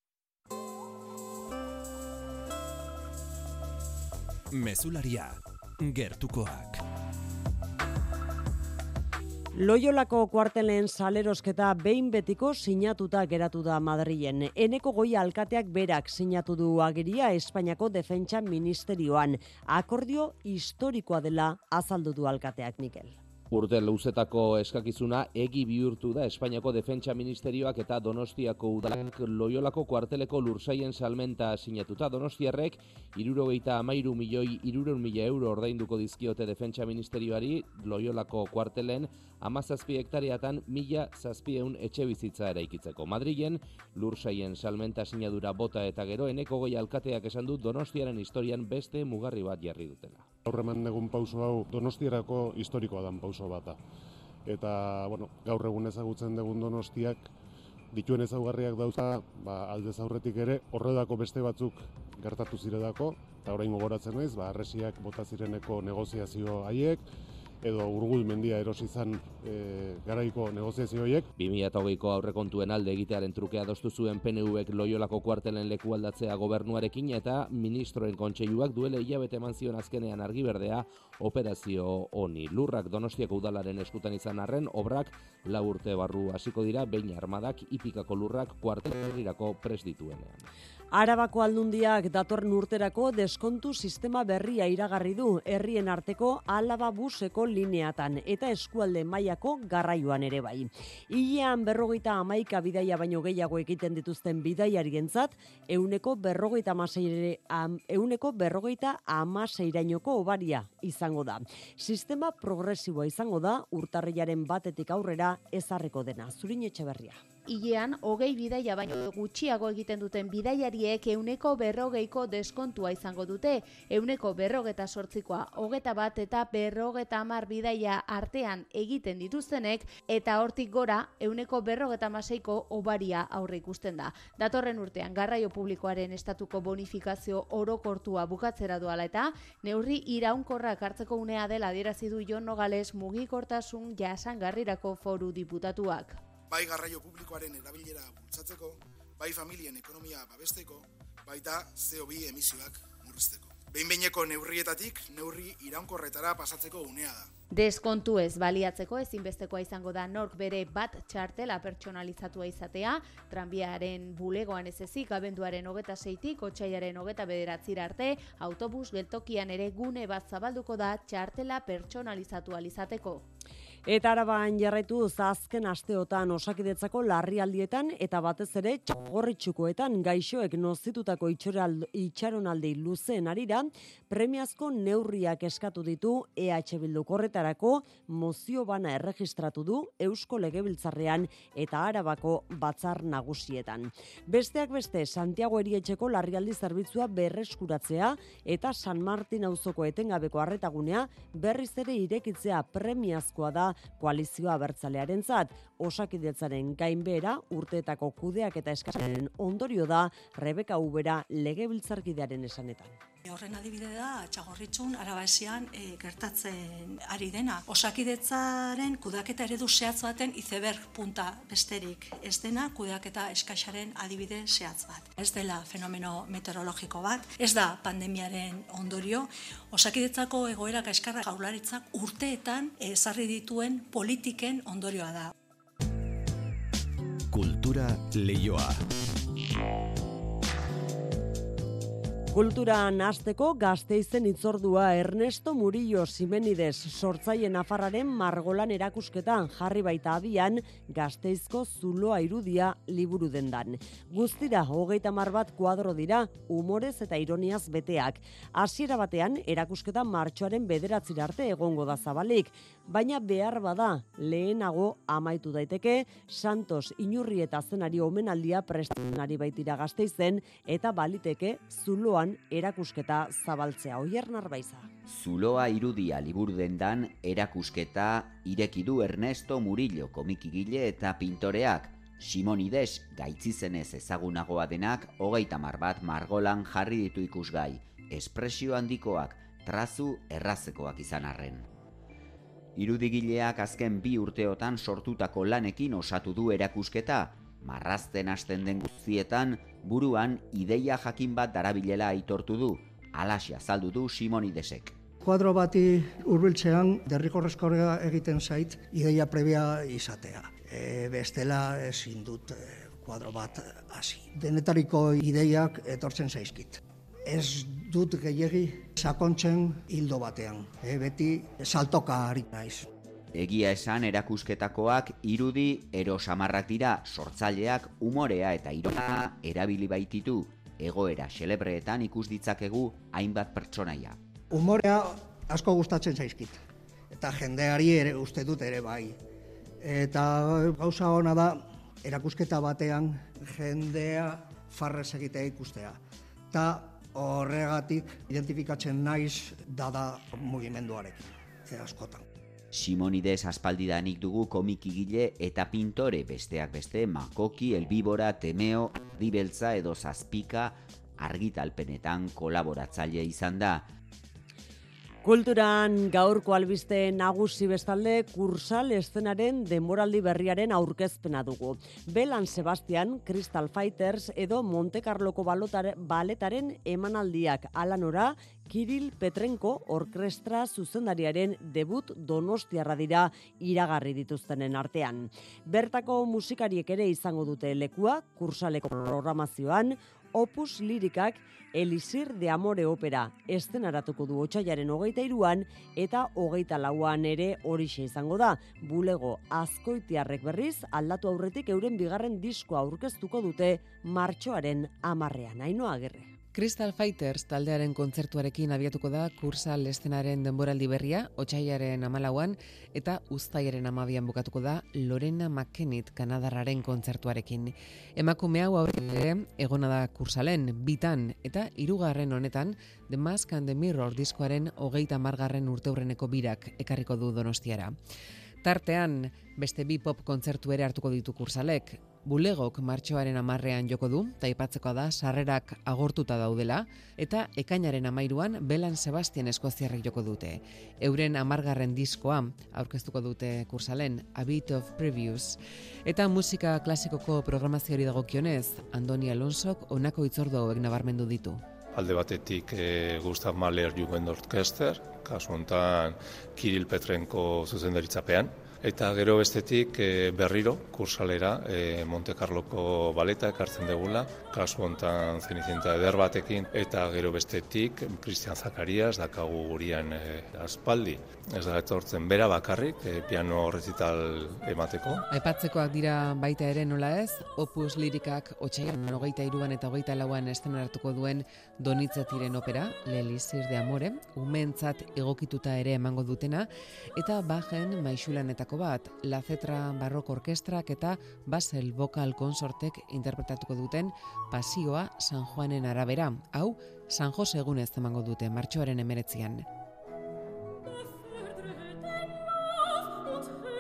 Mezularia, gertukoak. Loiolako kuartelen salerosketa behin betiko sinatuta geratu da Madrilen. Eneko Goia alkateak berak sinatu du agiria Espainiako Defentsa Ministerioan. Akordio historikoa dela azaldu du alkateak, Mikel. Urte luzetako eskakizuna egi bihurtu da Espainiako Defentsa Ministerioak eta Donostiako udalak Loiolako kuarteleko lursaien salmenta sinatuta. Donostiarrek 73.300.000 euro ordainduko dizkiote Defentsa Ministerioari Loiolako kuartelen 17 hektareatan 1.700 etxe bizitza eraikitzeko. Madrilen lursaien salmenta sinadura bota eta gero Eneko Goia alkateak esan du Donostiaren historian beste mugarri bat jarri dutela. Aurreman egun pauso hau Donostiarako historikoa dan pauso bata. Eta, gaur egun ezagutzen dugun Donostiak dituen ezaugarriak dauza, aldez aurretik ere horredako beste batzuk gertatu ziredako, eta orain gogoratzen naiz, harresiak bota zireneko negoziazio haiek, edo Urgul mendia erosi izan garaiko negoziazio horiek. 2020ko aurrekontuen alde egitearen truke adostu zuen PNVek Loiolako kuartelen leku aldatzea gobernuarekin eta ministroen kontseiluak duela hilabete eman zion azkenean argiberdea operazio honi. Lurrak Donostiako udalaren eskutan izan arren, obrak 4 urte barru hasiko dira, behin armadak Ipikako lurrak kuartelerrirako prest dituenean. Arabako aldundiak datorren urterako deskontu sistema berria iragarri du herrien arteko Alaba buseko lineatan eta eskualde mailako garraioan ere bai. Hilean 51 bidaia baino gehiago egiten dituzten bidaiarientzat 156rainoko obaria izango da. Sistema progresiboa izango da urtarrilaren 1 aurrera ezarriko dena. Zurin Etxeberria. Hilean 20 bidaia baino gutxiago egiten duten bidaiariek 140ko deskontua izango dute, 148koa 21 eta 50 bidaia artean egiten dituztenek eta hortik gora 156ko obaria aurre ikusten da. Datorren urtean garraio publikoaren estatuko bonifikazio orokortua bukatzera doala eta neurri iraunkorrak hartzeko unea dela adierazi du Jon Nogales mugikortasun jasangarrirako foru diputatuak. Bai garraio publikoaren erabilera bultzatzeko, bai familien ekonomia babesteko, baita CO2 emisioak murrizteko. Behin-behineko neurrietatik neurri iraunkorretara pasatzeko unea da. Deskontu ez baliatzeko ezinbestekoa izango da nork bere bat txartela pertsonalizatua izatea, tranbiaren bulegoan ez ezik, abenduaren 26tik, otsailaren 29 arte, autobus geltokian ere gune bat zabalduko da txartela pertsonalizatua izateko. Eta Araban jarraitu azken asteotan Osakidetzako larrialdietan eta batez ere txagorritxukoetan gaixoek nozitutako itxaronaldi luzeen arira premiazko neurriak eskatu ditu EH Bilduk. Horretarako mozio bana erregistratu du Eusko Legebiltzarrean eta Arabako batzar nagusietan. Besteak beste Santiago Erietxeko larrialdi zerbitzua berreskuratzea eta San Martin auzoko etengabeko arretagunea berriz ere irekitzea premiazkoa da koalizioa abertzalearentzat. Osakidetzaren gainbehera urteetako kudeak eta eskasaren ondorio da Rebeka Ubera legebiltzarkidearen esanetan. Horren adibide da, Txagorritxun, Arabaesian gertatzen ari dena. Osakidetzaren kudeaketa eredu zehatz baten iceberg punta besterik ez dena kudeaketa eskasaren adibide zehatz bat. Ez dela fenomeno meteorologiko bat, ez da pandemiaren ondorio. Osakidetzako egoera kaskarra Jaurlaritzak urteetan ezarri dituen politiken ondorioa da. Kultura leioa. Kulturan hasteko Gasteizen hitzordua Ernesto Murillo Simenides sortzaile nafarraren margolan erakusketan jarri baita abian Gasteizko zuloa irudia liburu dendan. Guztira 30 bat kuadro dira, humorez eta ironiaz beteak. Hasiera batean erakusketa martxoaren 9 arte egongo da zabalik, baina behar bada lehenago amaitu daiteke Santos Inurri eta zenari omenaldia prestatzen ari baitira Gasteizen eta baliteke zuloa erakusketa zabaltzea. Oier Narbaiza. Zuloa irudia liburu dendan erakusketa ireki du Ernesto Murillo komikigile eta pintoreak. Simonides gaitzizenez ezagunagoa denak 30 bat margolan jarri ditu ikusgai. Espresio handikoak, trazu errazekoak izan arren. Irudigileak azken 2 urteotan sortutako lanekin osatu du erakusketa. Marrazten hasten den guztietan, buruan ideia jakin bat darabilela aitortu du, alaxia azaldu du Simonidesek. Kuadro bati hurbiltzean derrigorrezkoa egiten zait ideia previa izatea. Bestela ezin dut kuadro bat hasi. Denetariko ideiak etortzen zaizkit. Ez dut gehiegi sakontzen hildo batean. Beti saltoka ari naiz. Egia esan erakusketakoak irudi erosamarrak dira, sortzaileak umorea eta ironia erabili baititu, egoera xelebreetan ikus ditzakegu hainbat pertsonaia. Umorea asko gustatzen zaizkit, eta jendeari ere uste dut ere bai. Eta gauza ona da erakusketa batean jendea farrez egitea ikustea. Eta horregatik identifikatzen naiz dada mugimenduarekin, askotan. Simonides aspaldidanik dugu komikigile eta pintore, besteak beste Makoki, Elbibora, Temeo, Dibeltza edo Zazpika argitalpenetan kolaboratzaile izan da. Kulturan gaurko albiste nagusi bestalde Kursal eszenaren denboraldi berriaren aurkezpena dugu. Belan Sebastian, Crystal Fighters edo Monte Carloko baletaren emanaldiak alanora Kiril Petrenko orkestra zuzendariaren debut donostiarra dira iragarri dituztenen artean. Bertako musikariek ere izango dute lekua Kursaleko programazioan, Opus Lirikak Elisir de Amore opera eszenaratuko du otsailaren 23an eta 24an ere horixe izango da. Bulego Azkoitiarrek berriz aldatu aurretik euren bigarren diskoa aurkeztuko dute martxoaren 10ean. Ainhoa Agirre. Crystal Fighters taldearen kontzertuarekin abiatuko da Kursal eszenaren denboraldi berria, otsailaren 14an eta uztailaren 12an bukatuko da Lorena McKennitt Kanadarraren kontzertuarekin. Emakume hau aurretik egona da Kursalen 2tan eta 3. honetan The Mask and the Mirror diskoaren 30. urteurreneko birak ekarriko du Donostiara. Tartean, beste 2 pop kontzertu ere hartuko ditu Kursalek. Bulegok martxoaren 10ean joko du, eta aipatzekoa da sarrerak agortuta daudela, eta ekainaren 13an Belan Sebastian eskoziarrek joko dute. Euren 10. diskoa aurkeztuko dute Kursalen, A Bit of Previews. Eta musika klasikoko programazioari dagokionez, Andoni Alonsok honako hitzordu hauek nabarmendu ditu. Alde batetik Gustav Mahler Jugend Orkester, kasu honetan Kiril Petrenko zuzendaritzapean, eta gero bestetik berriro Kursalera Monte Carloko baleta ekartzen degula, kasu honetan Zenicienta eder batekin, eta gero bestetik Cristian Zakarias dakagu gurian aspaldi. Ez da etortzen bera bakarrik, piano rezital emateko. Aipatzekoak dira baita ere nola ez, Opus Lirikak otsailaren 23an eta 24an eszenaratuko duen Donizettiren opera, L'Elisir de Amore, umeentzat egokituta ere emango dutena, eta Bachen maisulanetako bat, La Cetra Barroko Orkestrak eta Basel Vocal Consortek interpretatuko duten Pasioa San Juanen arabera. Hau, San Jose egunez emango dute martxoaren 19an.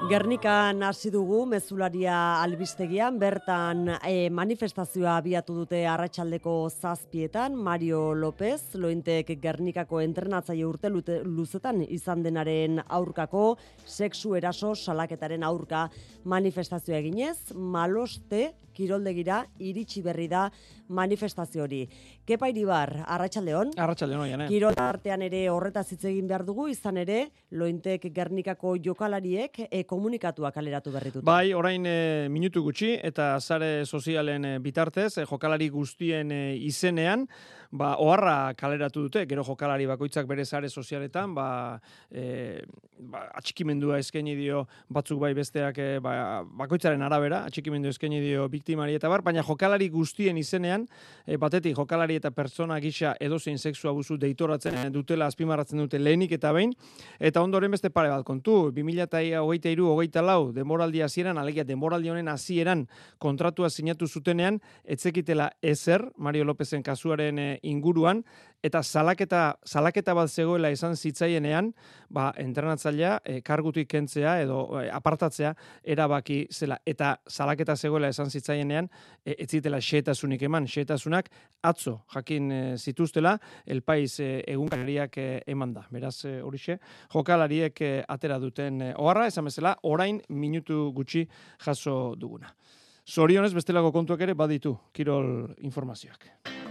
Gernikan hasi dugu mezularia albistegian, bertan manifestazioa abiatu dute arratsaldeko 7:00 Mario López, Lointek Gernikako entrenatzaile urte luzetan izan denaren aurkako, sexu eraso salaketaren aurka manifestazioa eginez, Maloste kiroldegira iritsi berri da manifestazio hori. Kepa Iribar, arratsaldeon. Arratsaldeon oian, Kirol artean ere horretaz hitz egin behar dugu, izan ere, Lointek Gernikako jokalariek komunikatuak kaleratu berri dute. Bai, orain minutu gutxi eta sare sozialen bitartez, jokalari guztien izenean, oharra kaleratu dute, gero jokalari bakoitzak bere sare sozialetan, atxikimendua eskaini dio batzuk bai besteak bakoitzaren arabera, atxikimendu eskaini dio biktimari eta baina jokalari guztien izenean, batetik jokalari eta pertsona gisa edozein sexu abusu deitoratzen dutela azpimarratzen dute lehenik eta behin, eta ondoren beste pare bat kontu, 2023-24 denboraldi hasieran, alegia denboraldi honen hasieran kontratua sinatu zutenean, etzekitela ezer, Mario Lópezen kasuaren inguruan, eta salaketa bat zegoela esan zitzaienean, entrenatzailea kargutik kentzea edo apartatzea erabaki zela. Eta salaketa zegoela esan zitzaienean, ez zitela xehetasunik eman, xehetasunak atzo jakin zituztela, El Pais egunkariak eman da. Beraz, horixe, jokalariek atera duten oharra, esan bezala, orain minutu gutxi jaso duguna. Zorionez, bestelako kontuak ere baditu kirol informazioak.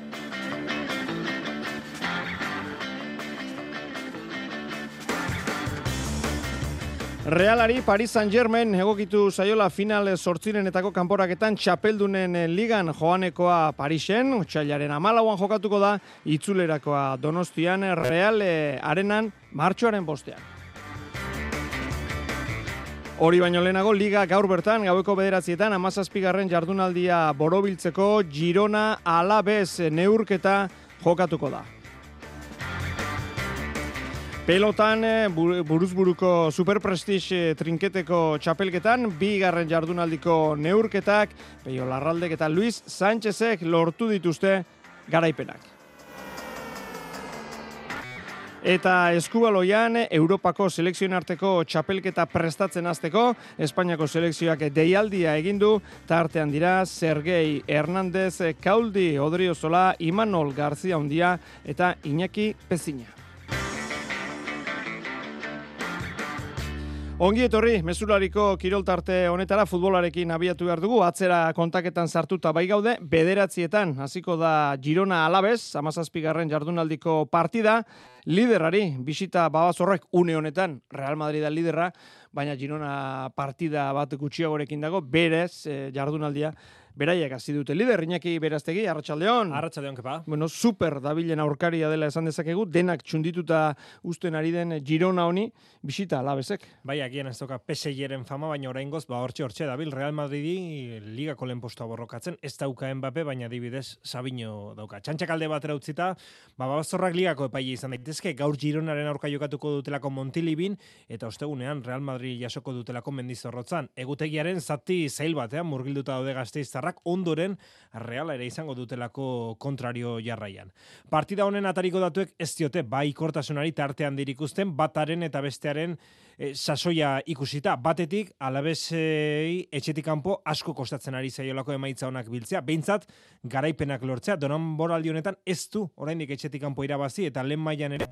Realari Paris Saint-Germain egokitu zaiola final 8renetako kanporaketan txapeldunen ligan joanekoa Parisen, otsailaren 14an jokatuko da, itzulerakoa Donostian, Real arenan martxoaren 5. Hori baino lehenago, liga gaur bertan, gaueko 9:00 17. jardunaldia borobiltzeko Girona Alavés neurketa jokatuko da. Pelotan, buruzburuko Superprestige trinketeko txapelketan, 2. jardunaldiko neurketak, Peio Larraldek eta Luis Sánchezek lortu dituzte garaipenak. Eta eskubaloian, Europako selekzioen arteko txapelketa prestatzen hasteko, Espainiako selekzioak deialdia egindu, tartean dira Sergei Hernández, Kauldi Odriozola, Imanol Garzia Undia eta Iñaki Pezina. Ongi etorri, mezulariko kiroltarte honetara futbolarekin abiatu behar dugu, atzera kontaketan sartuta bai gaude, 9:00 hasiko da Girona Alavés, 17. jardunaldiko partida, liderari, bisita Babazorrek une honetan, Real Madrid liderra, baina Girona partida bat gutxiagorekin dago, berez jardunaldia, beraiek hasi dute lider, Iñaki Beraztegi, arratsaldeon. Arratsaldeon, kepa. Bueno, super dabilen aurkaria dela esan dezakegu, denak txundituta uzten ari den Girona honi, bisita Alavesek. Bai, agian ez doka PSG-ren fama, baina oraingoz, hortxe dabil, Real Madridi ligako lehen postua borrokatzen, ez dauka Mbappe, baina adibidez Sabino dauka. Txantxakalde batera utzita, Babazorrak ligako epaile izan daitezke, gaur Gironaren aurka jokatuko dutelako Montilibin, eta ostegunean Real Madrid jasoko dutelako Mendizorrotzan. Egutegiaren zati zail batean murgilduta daude Gasteiztarrak, ondoren Reala ere izango dutelako kontrario jarraian. Partida honen atariko datuek ez diote baikortasunari tartean dirikusten, bataren eta bestearen sasoia ikusita. Batetik, Alavesei etxetik kanpo asko kostatzen ari zaiolako emaitza honak biltzea. Behintzat, garaipenak lortzea. Denboraldi honetan ez du oraindik etxetik kanpo irabazi, eta lehen mailan ere,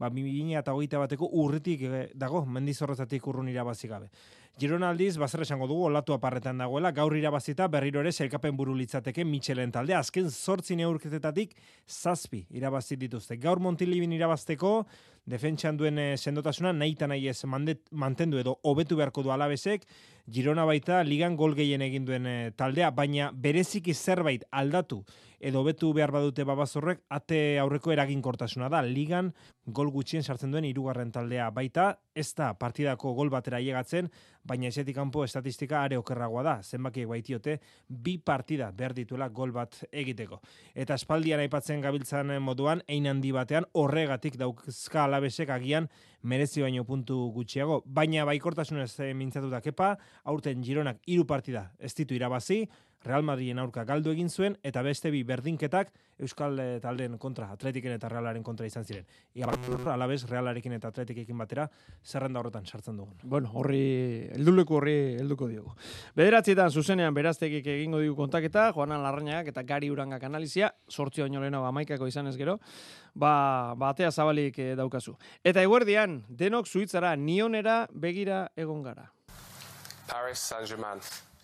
2021 urritik dago, Mendizorrotatik urrun irabazi gabe. Girona aldiz, bazer esango dugu, olatu aparretan dagoela, gaur irabazita berriro ere sailkapen buru litzateke Michelen talde, azken 8 neurketetatik 7 irabazi dituzte. Gaur Montilibin irabazteko, defentsan duen sendotasuna nahita nahi ez mantendu edo hobetu beharko du Alavesek, Girona baita ligan gol gehien egin duen taldea, baina bereziki zerbait aldatu edo hobetu behar badute Babazorrek, ate aurreko eraginkortasuna da. Ligan gol gutxien sartzen duen 3. taldea baita, ez da partidako gol batera ailegatzen, baina esetik kanpo estatistika are okerragoa da. Zenbakiek baitiote 2 partida behar dituela gol bat egiteko. Eta espaldian aipatzen gabiltzan moduan, ein handi batean horregatik dauzka Alavesek agian merezi baino puntu gutxiago, baina baikortasunez mintzatuta kepa, aurten Gironak 3 partida ez ditu irabazi, Real Madriden aurka galdu egin zuen, eta beste bi berdinketak Euskal taldeen kontra, Atletiken eta Realaren kontra izan ziren. Alabez, Realarekin eta Atletikekin batera, zerrenda horretan sartzen dugun. Bueno, helduko diogu. 9:00 zuzenean Beraztegik egingo digu kontaketa, Joanan Larrañagak eta Gari Urangak analizia, 8 baino lehenago 11 izan ez gero, atea zabalik daukazu. Eta eguerdian, denok Suitzara, Nionera begira egon gara. Paris Saint-Germain.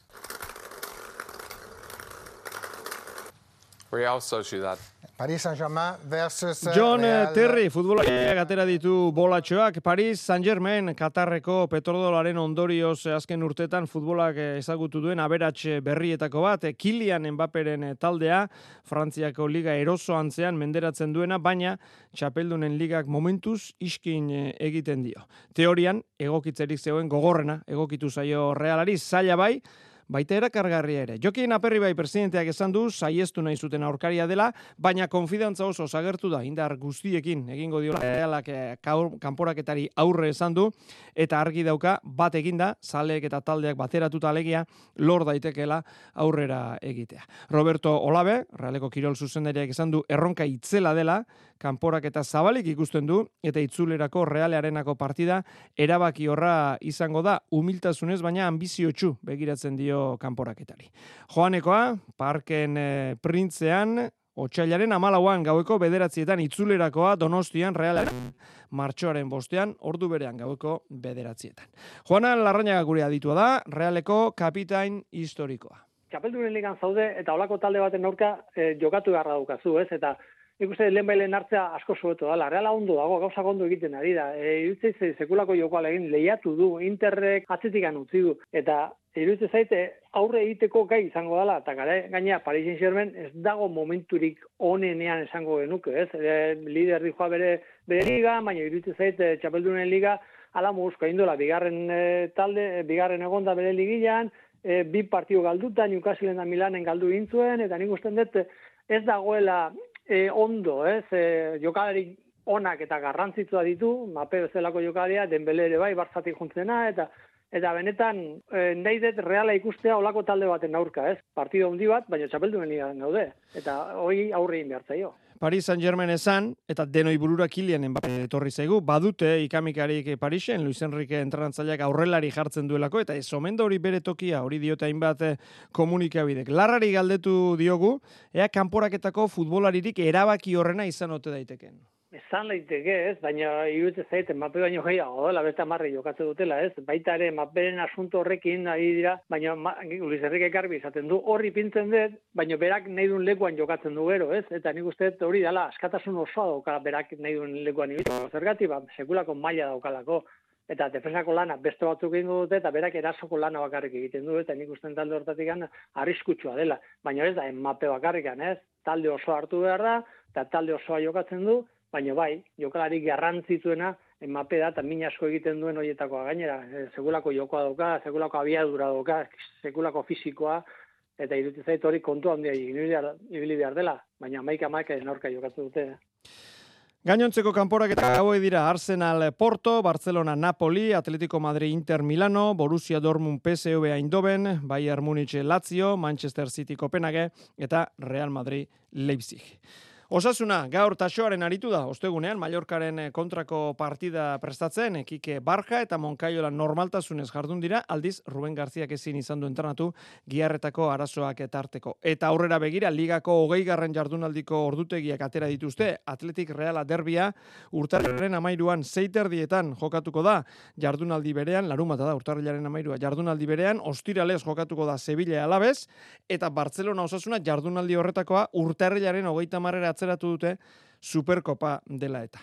Real Sociedad. Paris Saint-Germain versus John Real... Terry, futbolariak atera ditu bolatxoak. Paris Saint-Germain, Katarreko petrodolaren ondorioz azken urtetan futbolak ezagutu duen aberats berrietako bat. Kylian Mbapperen taldea, Frantziako liga eroso antzean menderatzen duena, baina txapeldunen ligak momentuz iskin egiten dio. Teorian, egokitzerik zegoen gogorrena, egokitu zaio Realari, zaila bai, baita erakargarria ere. Jokin Aperribai presidenteak esan du, saiestu nahi zuten aurkaria dela, baina konfidantza oso zagertu da, indar guztiekin egingo diola Realak kanporaketari aurre esan du, eta argi dauka bat eginda, zaleek eta taldeak bateratuta alegia, lor daitekela aurrera egitea. Roberto Olabe, Realeko kirol zuzendariak esan du, erronka itzela dela, kanporaketa zabalik ikusten du, eta itzulerako Realearenako partida erabaki horra izango da, humiltasunez, baina ambiziotsu begiratzen dio kanporaketari. Joanekoa, Parken Printzean, Otsailaren 14an gaueko 9 itzulerakoa Donostian Realaren martxoaren 5 ordu berean gaueko 9. Joanan Larrañaga gure aditua da, Realeko kapitain historikoa. Txapeldunen ligan zaude eta olako talde baten aurka jokatu beharra daukazu, ez? Eta nik uste lehenbailen hartzea asko zuetu dela. Reala ondo dago, gauzak ondo egiten ari da. Iruditzen sekulako jokoa egin lehiatu du, Interrek atzetikan utzi du. Eta iruditzen zaite aurre egiteko gai izango dela. Eta gainera Paris Saint-Germain ez dago momenturik onenean esango genuke, ez? Lider dijoa bere liga, baina iruditzen zaite txapeldunen liga ala muguzko egin dola. Bigarren egonda bere ligian, 2 partidu galduta, Newcastle eta Milanen galdu egin zuen, eta nik usten dut ez dagoela ondo, ez? Jokalari onak eta garrantzitsua ditu, Mbappé bezalako jokalaria, Dembele ere bai, Bartzatik juntzena, eta benetan nahi dut Reala ikustea olako talde baten aurka, ez? Partido handi bat, baina txapeldunen ligan daude, eta hori aurre egin behar zaio. Paris Saint-Germain esan, eta denoi burura Kylian Mbappé etorri zaigu, badute ikamikarik Parisen, Luis Enrique entrenatzaileak aurrelari jartzen duelako, eta ez omen da hori bere tokia, hori diote hainbat komunikabidek. Larrari galdetu diogu, ea kanporaketako futbolaririk erabaki horrena izan ote daiteken. Esan daiteke, ez, baina iruditzen zait Mbappé baino gehiago dela, beste 10 jokatzen dutela, ez? Baita ere Mbappéren asunto horrekin ari dira, baina Luis Enrique garbi izaten du, horri pintzen dut, baina berak nahi duen lekuan jokatzen du gero, ez? Eta nik uste hori dela, askatasun osoa dauka berak nahi duen lekuan ibitzen. Zergatik, sekulako maila daukalako. Eta defensako lana beste batzuk egingo dute, eta berak erasoko lana bakarrik egiten du, eta nik usten talde hortatik arriskutsua dela. Baina ez da, Mbappé bakarrikan, ez? Talde osoa hartu behar da, eta talde osoa jokatzen du, baina bai, jokalari garrantzitsuena Mbappé da, eta min asko egiten duen horietakoa gainera. Sekulako jokoa dauka, sekulako abiadura dauka, sekulako fisikoa, eta iruditzen zait hori kontu handia ibili behar dela, baina 11 aurka jokatzen dute. Gainontzeko kanporaketak hauek dira Arsenal Porto, Barcelona Napoli, Atletico Madrid Inter Milano, Borussia Dortmund PSV Eindhoven, Bayern Munich Lazio, Manchester City Copenhague eta Real Madrid Leipzig. Osasuna, gaur taxoaren aritu da, ostegunean, Mallorcaren kontrako partida prestatzen, Kike Barja eta Moncayola normaltasunez jardun dira, aldiz Ruben Garziak ezin izan du entrenatu giarretako arazoak etarteko. Eta aurrera begira, ligako 20. jardunaldiko ordutegiak atera dituzte, Atletik Reala derbia, urtarrilaren 13an 6:30 jokatuko da, jardunaldi berean, larumata da, urtarrilaren 13a, jardunaldi berean, ostiralez jokatuko da Sevilla Alavés, eta Barcelona Osasuna jardunaldi horretakoa urtarrilaren 30 atzeratu dute Superkopa dela eta.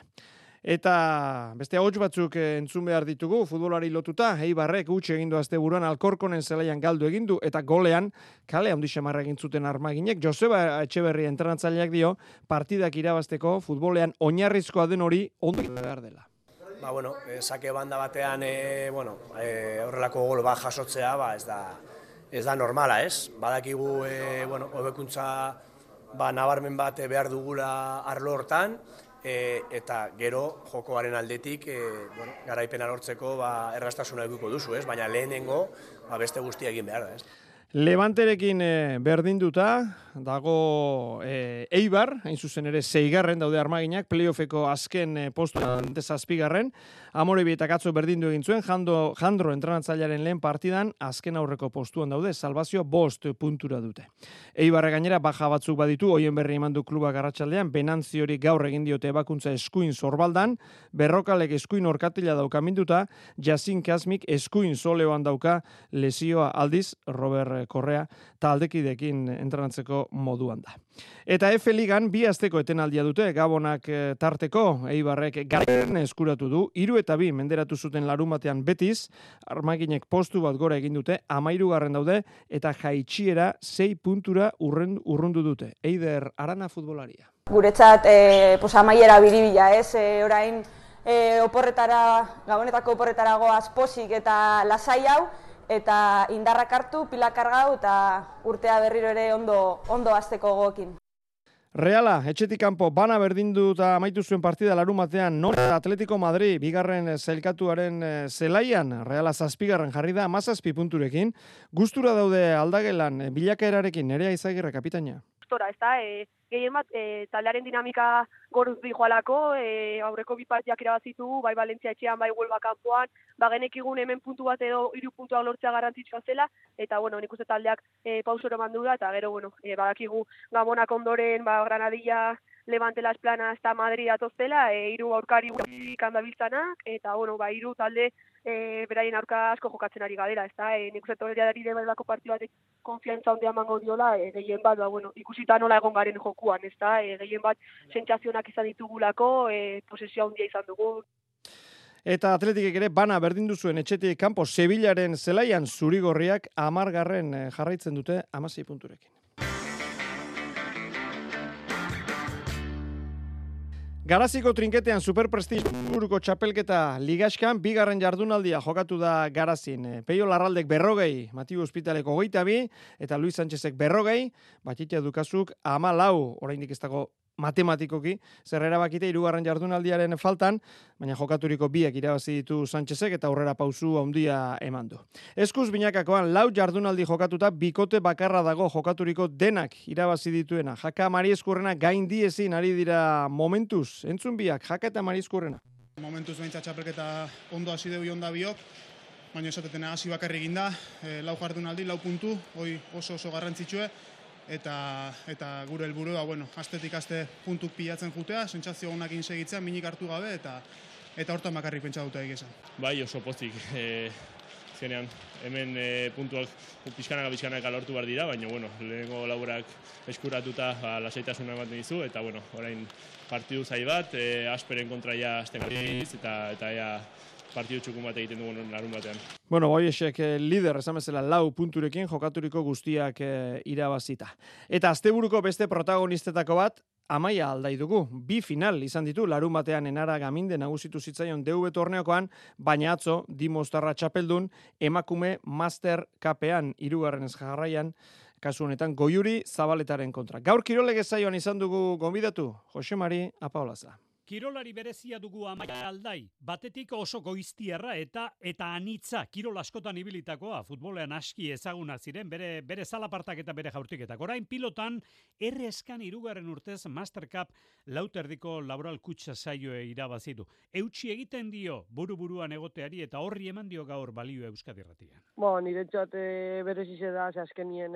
Eta beste ahots batzuk entzun behar ditugu, futbolari lotuta, Eibarrek utxe egindu asteburuan Alkorkonen zelaian galdu egindu, eta golean, kale handi xamarra egin zuten armaginek, Joseba Etxeberri entrenatzaileak dio, partidak irabazteko futbolean oinarrizkoa den hori ondo behar dela. Sake banda batean, horrelako gol bat jasotzea, ez da normala, ez? Badakigu, hobekuntza nabarmen bat behar dugula arlo hortan, eta gero jokoaren aldetik garaipena lortzeko erraztasuna edukiko duzu, ez? Baina lehenengo beste guztia egin behar da, ez? Levanterekin berdinduta dago Eibar, hain zuzen ere 6. daude Armaginak, playoffeko azken postuan 7. Amorebi eta Katzo berdindu egin zuen, Jandro entrenatzailearen lehen partidan azken aurreko postuan daude, salvazio 5 puntura dute. Eibarre gainera baja batzuk baditu, hoien berri eman du klubak arratsaldean, Benantziori gaur egin diote ebakuntza eskuin Zorbaldan, Berrokalek eskuin orkatila dauka minduta, Jasin Kasmik eskuin soleoan dauka lesioa aldiz, Robert Korrea taldekidekin entrenatzeko moduan da. Eta F Ligan 2 asteko etenaldia dute, Gabonak tarteko, Eibarrek garaipen eskuratu du, 3-2 menderatu zuten larunbatean Betiz, Armaginek postu bat gora egin dute, 13. daude, eta jaitsiera 6 puntura urrundu dute. Eider Arana futbolaria. Guretzat, amaiera biribila, orain Gabonetako oporretara goaz posik eta lasai hau, eta indarrak hartu, pilak kargau eta urtea berriro ere ondo hasteko gogokin. Reala, etxetik kanpo bana berdindu eta amaitu zuen partida larunbatean Norte Atletico Madrid, 2. sailkatuaren zelaian, Reala 7. jarri da 17 punturekin. Gustura daude aldagelan, bilakaerarekin, Nerea Izagirre kapitaina. Gehien bat, taldearen dinamika goruz dijoalako, aurreko 2 partiak irabazitu, bai Valentzia etxean, bai Huelva kanpoan, genekigun hemen puntu bat edo 3 puntuak lortzea garrantzitsua zela, eta nik uste taldeak pausoro mandu da, eta gero, badakigu Gabonak ondoren, Granadilla, Levante Las Planas eta Madrid atoztela, 3 aurkari kandabiltzanak, eta 3 talde beraien aurka asko jokatzen ari gadera, nik uste torreari debelako partidu batek konfiantza handia emango diola, gehien bat, ikusita nola egon garen jokuan, gehien bat sentsazionak izan ditugulako, posesio handia izan dugu. Eta Atletikek ere bana berdindu zuen etxetik kanpo Sevillaren zelaian zurigorriak 10. jarraitzen dute 16 punturekin. Garaziko trinketean superprestiburuko txapelketa ligaskan 2. jardunaldia jokatu da Garazin. Peio Larraldek 40, Matiu Ospitaleko 22, eta Luis Sánchezek 40, Batxitia Dukazuk 14, oraindik ez dago matematikoki, zer erabakite 3. jardunaldiaren faltan, baina jokaturiko 2 irabazi ditu Sánchezek eta aurrera pausu handia eman du. Eskuz binakakoan 4 jardunaldi jokatuta bikote bakarra dago jokaturiko denak irabazi dituena. Jaka Marieskurrena gaindiezin ari dira momentuz. Entzun biak, Jaka eta Marieskurrena. Momentuz behintzat txapelketa ondo hasi deu jonda biok, baina esatetena hasi bakarri ginda, 4 jardunaldi, 4 puntu, hoi oso garrantzitsue, eta gure helburua, astetik aste puntuk pilatzen jutea, sentsazio honakin segitzea, minik hartu gabe, eta hortan bakarrik pentsa dute egizan. Bai, oso pozik. Zenean, hemen puntuak pixkanaka lortu behar dira, baina, lehenengo laburak eskuratuta lasaitasuna ematen dizu, eta, orain partidu zai bat, Asperen kontra ja azten garriz, eta partidu txukun bat egiten dugun larun batean. Boiesek lider esan bezala 4 punturekin jokaturiko guztiak irabazita. Eta asteburuko beste protagonistetako bat, Amaia aldai dugu. 2 final izan ditu larun batean Enara Gaminde nagusitu zitzaion DV torneokoan, baina atzo Dimostarra txapeldun emakume Master Cupean 3. jarraian, kasu honetan Goiuri Zabaletaren kontra. Gaur kirolege saioan izan dugu gonbidatu, Jose Mari Apaolaza. Kirolari berezia dugu Amaia aldai, batetik oso goiztierra eta anitza kirol askotan ibilitakoa, futbolean aski ezaguna ziren bere zalapartak eta bere jaurtiketak. Orain pilotan erreskan 3. urtez Master Cup lauterdiko laboral kutsa saioe irabazidu. Eutsi egiten dio buru-buruan egoteari eta horri eman dio gaur balio Euskadi Irratian. Niretzat berezize da, azkenien,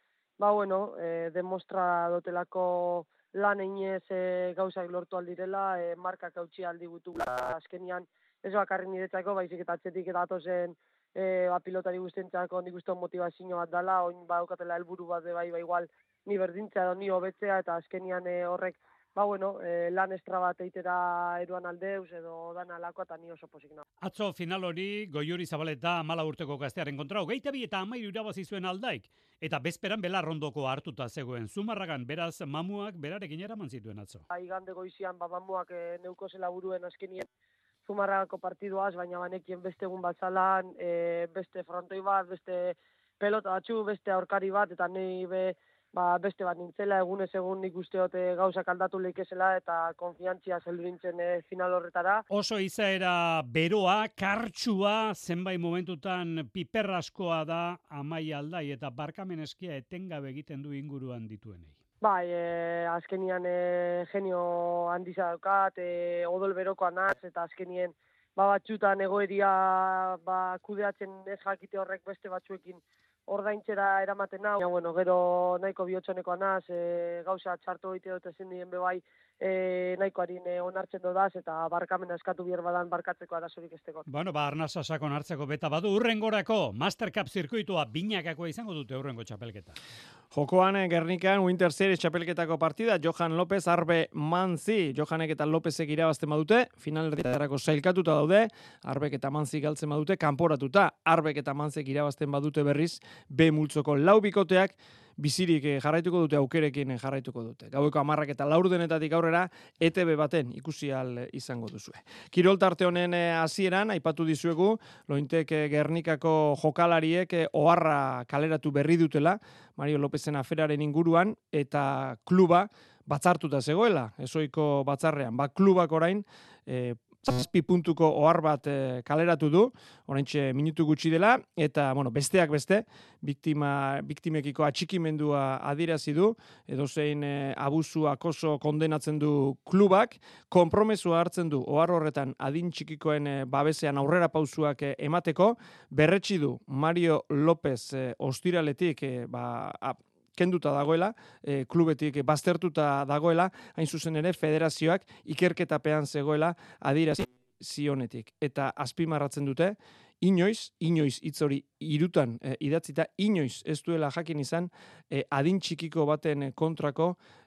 demostra dotelako lan einez gauzak lortu aldirela, markak hautsi aldi gutu azkenian ez bakarri niretzako, baizik eta atzetik eta atozen pilotari guztientzako nik uste motivazio bat dela, oin badaukatela helburu bat igual ni berdintzea edo ni hobetzea, eta azkenian horrek lan estra bat eitera eruan aldeuz edo dana alako, eta ni oso posik nago. Atzo final hori Goiuri Zabaleta 14 urteko gaztearen kontra, 22 eta 13 irabazi zuen aldaik, eta bezperan Belarrondoko hartuta zegoen. Zumarragan beraz mamuak berarekin eraman zituen atzo. Igande goizian mamuak neuko zela buruen azkenien Zumarragako partiduaz, baina banekien beste egun bat zalan, beste frontoi bat, beste pelota batzu, beste aurkari bat, eta nahi beste bat nintzela, egunez egun nik usteot gauzak aldatu leikezela eta konfiantzia zeldu nintzen final horretara. Oso izaera beroa, kartsua, zenbait momentutan piperraskoa da Amaia Aldai eta barkamen eskia etengabe egiten du inguruan dituenei. Bai, azkenian genio handiza daukat, odol berokoa naz, eta azkenien batxutan egoeria kudeatzen ez jakite horrek beste batzuekin ordaintzera eramaten nau. Bueno, gero nahiko bihotxonekoa naz, gauza txartu egite dut ezin dien bebai nahikoarin onartzen dodaz, eta barkamena eskatu bier badan barkatzeko arazorik esteko. Bueno, arnasa sakon hartzeko beta badu, urrengorako Master Cup zirkuitua binakakoa izango dute urrengo txapelketa. Jokoan Gernikan Winter Series txapelketako partida, Johan López, Arbe Manzi. Johanek eta Lópezek irabazten badute, finalerditarako sailkatuta daude, Arbek eta Manzi galtzen badute, kanporatuta. Arbek eta Manzek irabazten badute berriz, B multzoko lau bikoteak, bizirik jarraituko dute, aukerekin jarraituko dute. Gaueko 10 eta 4 aurrera ETB baten ikusi ahal izango duzue. Kirol tarte honen hasieran aipatu dizuegu, Lointek Gernikako jokalariek oharra kaleratu berri dutela, Mario Lópezen aferaren inguruan, eta kluba batzartuta zegoela, ezoiko batzarrean. Klubak orain 7 puntuko ohar bat kaleratu du, oraintxe minutu gutxi dela, eta besteak beste, biktimekiko atxikimendua adierazi du, edozein abusu akoso kondenatzen du klubak, konpromesua hartzen du ohar horretan adin txikikoen babesean aurrera pausuak emateko, berretsi du Mario López ostiraletik kenduta dagoela, klubetik baztertuta dagoela, hain zuzen ere federazioak ikerketapean zegoela adierazi zionetik. Eta azpimarratzen dute, inoiz hitz hori 3 idatzita, inoiz ez duela jakin izan adin txikiko baten kontrako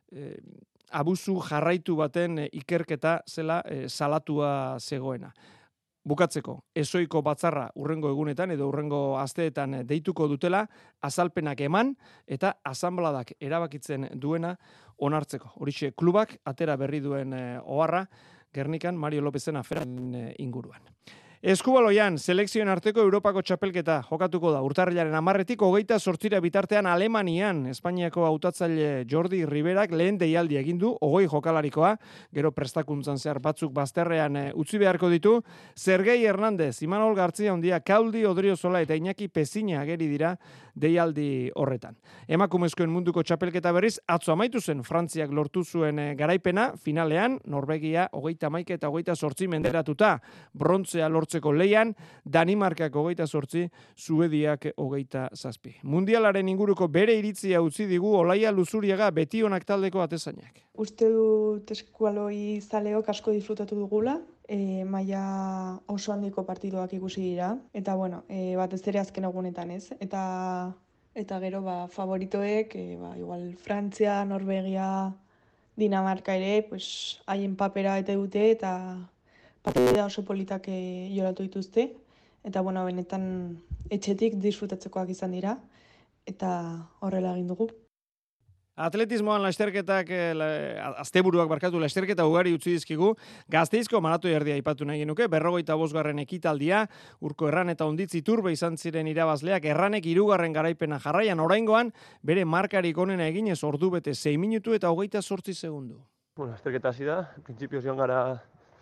abusu jarraitu baten ikerketa zela salatua zegoena. Bukatzeko, ezoiko batzarra urrengo egunetan edo urrengo asteetan deituko dutela, azalpenak eman eta asanbladak erabakitzen duena onartzeko. Horixe klubak atera berri duen oharra Gernikan Mario Lópezen aferaren inguruan. Eskubaloian, selekzioen arteko Europako txapelketa jokatuko da. Urtarrilaren 10-tik 28 bitartean Alemanian, Espainiako hautatzaile Jordi Riberak lehen deialdi egin du, 20 jokalarikoa, gero prestakuntzan zehar batzuk bazterrean utzi beharko ditu. Sergei Hernández, Imanol Gartzia Ondia, Kaudi Odriozola eta Iñaki Pezina ageri dira deialdi horretan. Emakumezkoen munduko txapelketa berriz, atzo amaitu zen Frantziak lortu zuen garaipena, finalean, Norvegia 31 eta 28 menderatuta, brontzea lortzeko leian, Danimarkak 28, Suediak 27. Mundialaren inguruko bere iritzia utzi digu Olaia Luzuriaga Betionak taldeko atezainak. Uste dut eskualoi zaleok asko disfrutatu dugula, maila oso handiko partiduak ikusi dira, eta batez ere azken egunetan ez, eta gero favoritoek, igual Frantzia, Norvegia, Dinamarka ere, haien papera eta dute, eta partida oso politak joratu dituzte, eta benetan etxetik disfrutatzekoak izan dira, eta horrela egin dugu. Atletismoan lasterketak, asteburuak lasterketa ugari utzi dizkigu, Gasteizko maratoi erdia aipatu nahi genuke, 45. ekitaldia, Urko Erran eta Onditz Iturbe izan ziren irabazleak, Erranek 3. garaipena jarraian, oraingoan bere markarik onena eginez ordu bete 6 minutu eta 28 segundu. Lasterketa hasi da, printzipioz joan gara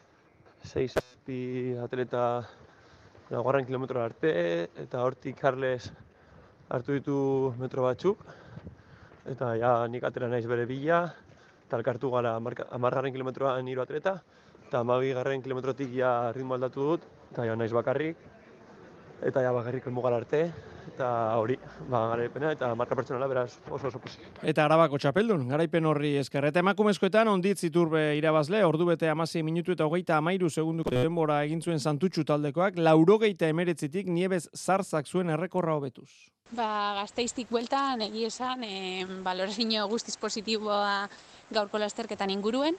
6 atleta 4 kilometrora arte, eta hortik Carles hartu ditu metro batzuk, eta nik atera naiz bere bila, eta elkartu gara 10. kilometroan 3 atleta, eta 12. kilometrotik ritmo aldatu dut, eta naiz bakarrik, eta bakarrik elmugara arte, eta hori, garaipena, eta marka pertsonala beraz oso pozik. Eta Arabako txapeldun, garaipen horri esker. Eta emakumezkoetan Onditz Iturbe irabazle, ordu bete 16 minutu eta 33 segunduko denbora egin zuen Santutxu taldekoak, 89tik Nieves Zarzak zuen errekorra hobetuz. Gasteiztik bueltan, egia esan, balorazio guztiz positiboa gaurko lasterketan inguruen.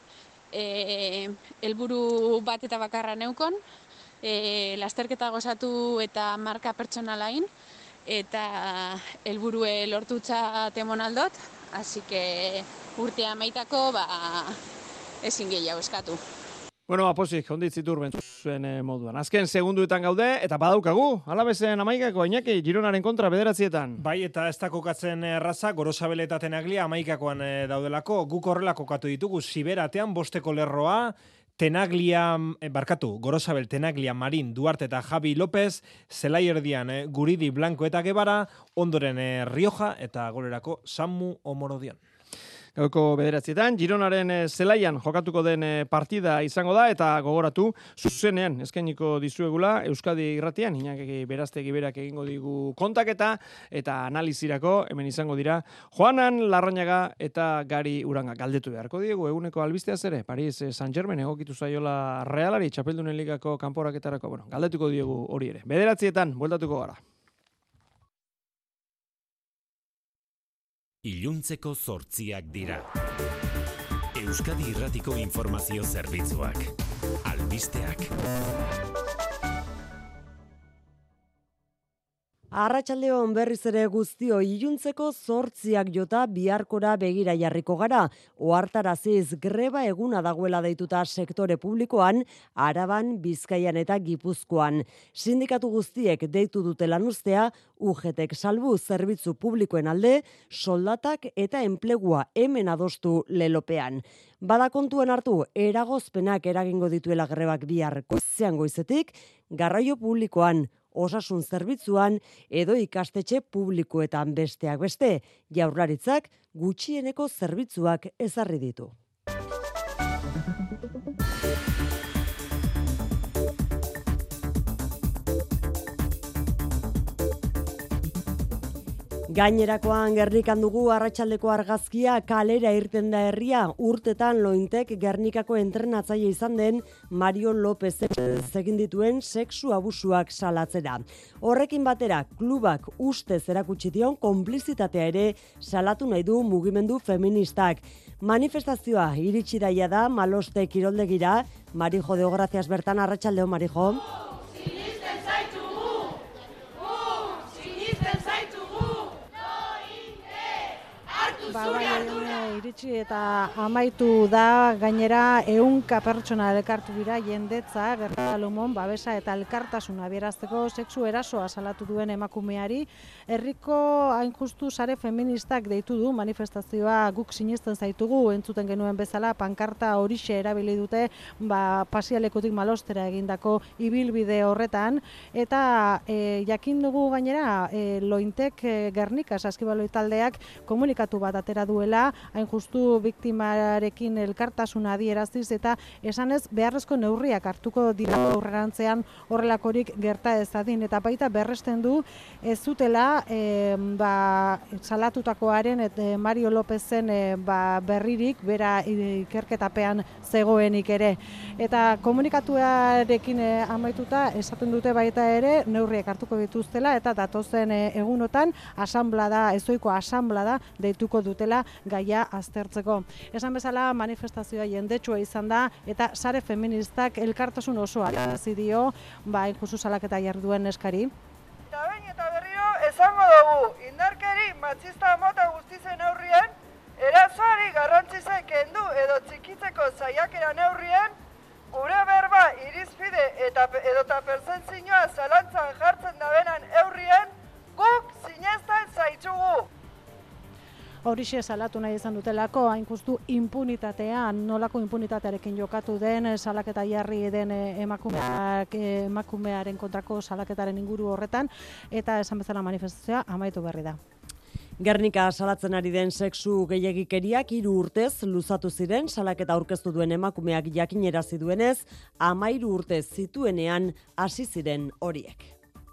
Helburu bat eta bakarra neukon, lasterketa gozatu eta marka pertsonalain, eta helburue lortutza temon aldot, así que urtea maitako ezin gehiago eskatu. Bueno, apozik, onditzitur zuen moduan. Azken segunduetan gaude, eta badaukagu, Alabezen amaikako, Iñaki, Gironaren kontra 9. Bai, eta ez da kokatzen erraza, Gorosabel eta Tenaglia amaikakoan daudelako, guk horrela kokatu ditugu, Siberatean bosteko lerroa, Gorosabel, Tenaglia, Marin, Duarte eta Javi López, Zelai erdian Guridi, Blanco eta Gebara, ondoren Rioja eta golerako Samu Omorodion. Gauko 9, Gironaren zelaian jokatuko den partida izango da, eta gogoratu, zuzenean eskainiko dizuegula Euskadi Irratian, Iñaki Beraztegi berak egingo digu kontaketa, eta analizirako hemen izango dira Juanan Larrañaga eta Gari Uranga. Galdetu beharko diegu, eguneko albisteaz ere, Paris Saint-Germain egokitu zaiola Realari, Txapeldunen Ligako kanporaketarako, bueno, galdetuko diegu hori ere. 9, bueltatuko gara. Iluntzeko 8 dira. Euskadi Irratiko informazio zerbitzuak. Albisteak. Arratsaldeon berriz ere guztio, iluntzeko 8 jota biharkora begira jarriko gara. Ohartaraziz greba eguna dagoela deituta sektore publikoan, Araban, Bizkaian eta Gipuzkoan. Sindikatu guztiek deitu dute lanuztea, UGTek salbu zerbitzu publikoen alde, soldatak eta enplegua hemen adostu lelopean. Bada kontuen hartu, eragozpenak eragingo dituela grebak bihar goizean goizetik, garraio publikoan, osasun zerbitzuan edo ikastetxe publikoetan besteak beste, Jaurlaritzak gutxieneko zerbitzuak ezarri ditu. Gainerakoan Gernikan dugu arratsaldeko argazkia, kalera irten da herria, urtetan Lointek Gernikako entrenatzaile izan den Mario López egin dituen sexu abusuak salatzera. Horrekin batera, klubak ustez erakutsi dion konplizitatea ere salatu nahi du mugimendu feministak. Manifestazioa iritsi daia da Maloste kiroldegira, Marijo de Gracias bertan, arratsaldeo Marijo. Iritsi eta amaitu da, gainera 100 pertsona elkartu dira jendetza, Gernikalumon babesa eta elkartasuna adierazteko sexu erasoa salatu duen emakumeari. Herriko hain justu sare feministak deitu du manifestazioa guk sinesten zaitugu, entzuten genuen bezala pankarta horixe erabili dute pasialekutik Malostera egindako ibilbide horretan, eta jakin dugu gainera Lointek Gernika Saskibaloi taldeak komunikatu bat atera duela, hain justu biktimarekin elkartasuna adieraziz eta esanez beharrezko neurriak hartuko dira aurrerantzean horrelakorik gerta ezadin, eta baita berresten du ez zutela salatutakoaren Mario Lópezen berririk bera ikerketapean zegoenik ere. Eta komunikatuarekin amaituta esaten dute baita ere neurriak hartuko dituztela eta datozen egunotan ezoiko asanblada deituko dutela gaia aztertzeko. Esan bezala manifestazioa jendetsua izan da eta sare feministak elkartasun osoa adierazi dio injustu salaketa jarri duen eskari. Eta behin eta berriro esango dugu, indarkeri matxista mota guztizen neurrien, erasoari garrantzizai kendu edo txikitzeko saiakera neurrien, gure berba irizpide edota perzentzioa zalantzan jartzen dabenan eurrien, guk sinesten zaitzugu. Horixe salatu nahi izan dutelako, hain justu impunitatean, nolako impunitatearekin jokatu den, salaketa jarri den emakumearen kontrako salaketaren inguru horretan, eta esan bezala manifestazioa amaitu berri da. Gernika salatzen ari den sexu gehiegikeriak 3 urtez luzatu ziren, salaketa aurkeztu duen emakumeak jakinerazi duenez, 13 urte zituenean hasi ziren horiek.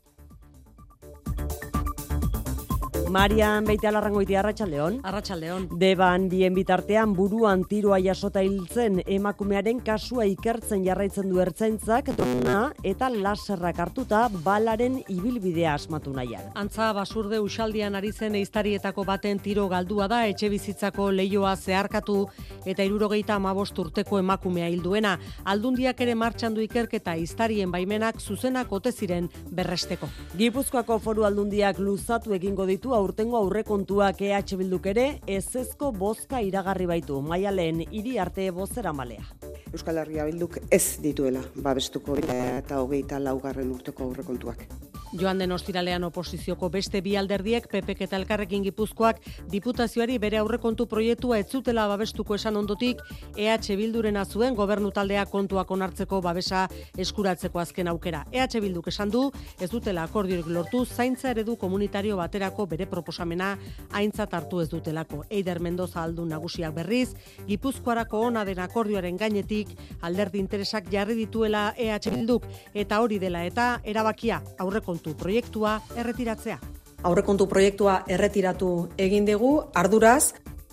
Marian Beitialarrangoitia, arratsaldeon. Arratsaldeon. Deban bien bitartean buruan tiroa jasota hiltzen emakumearen kasua ikertzen jarraitzen du ertzaintzak, drona eta laserrak hartuta balaren ibilbidea asmatu nahian. Antza Basurde Uxaldian ari zen ehiztarietako baten tiro galdua da, etxebizitzako leihoa zeharkatu eta 75 urteko emakumea hilduena. Aldundiak ere martxan du ikerketa ehiztarien baimenak zuzenak ote ziren berresteko. Gipuzkoako Foru Aldundiak luzatu egingo ditu aurtengo aurrekontuak Bilduk ere ezezko bozka iragarri baitu. Maialen Iriarte bozeramalea. Euskal Herria Bilduk ez dituela babestuko 2024 urteko aurrekontuak. Joan den ostiralean oposizioko beste bi alderdiek PPk eta Elkarrekin Gipuzkoak diputazioari bere aurrekontu proiektua ez zutela babestuko esan ondotik EH Bildurena zuen gobernu taldea kontuak onartzeko babesa eskuratzeko azken aukera. EH Bilduk esan du ez dutela akordiorik lortu zaintza eredu komunitario baterako bere proposamena aintzat hartu ez dutelako. Eider Mendoza aldun nagusiak berriz, Gipuzkoarako ona den akordioaren gainetik alderdi interesak jarri dituela EH Bilduk eta hori dela eta erabakia aurrekontu proiektua erretiratzea. Aurrekontu proiektua erretiratu egin dugu, arduraz.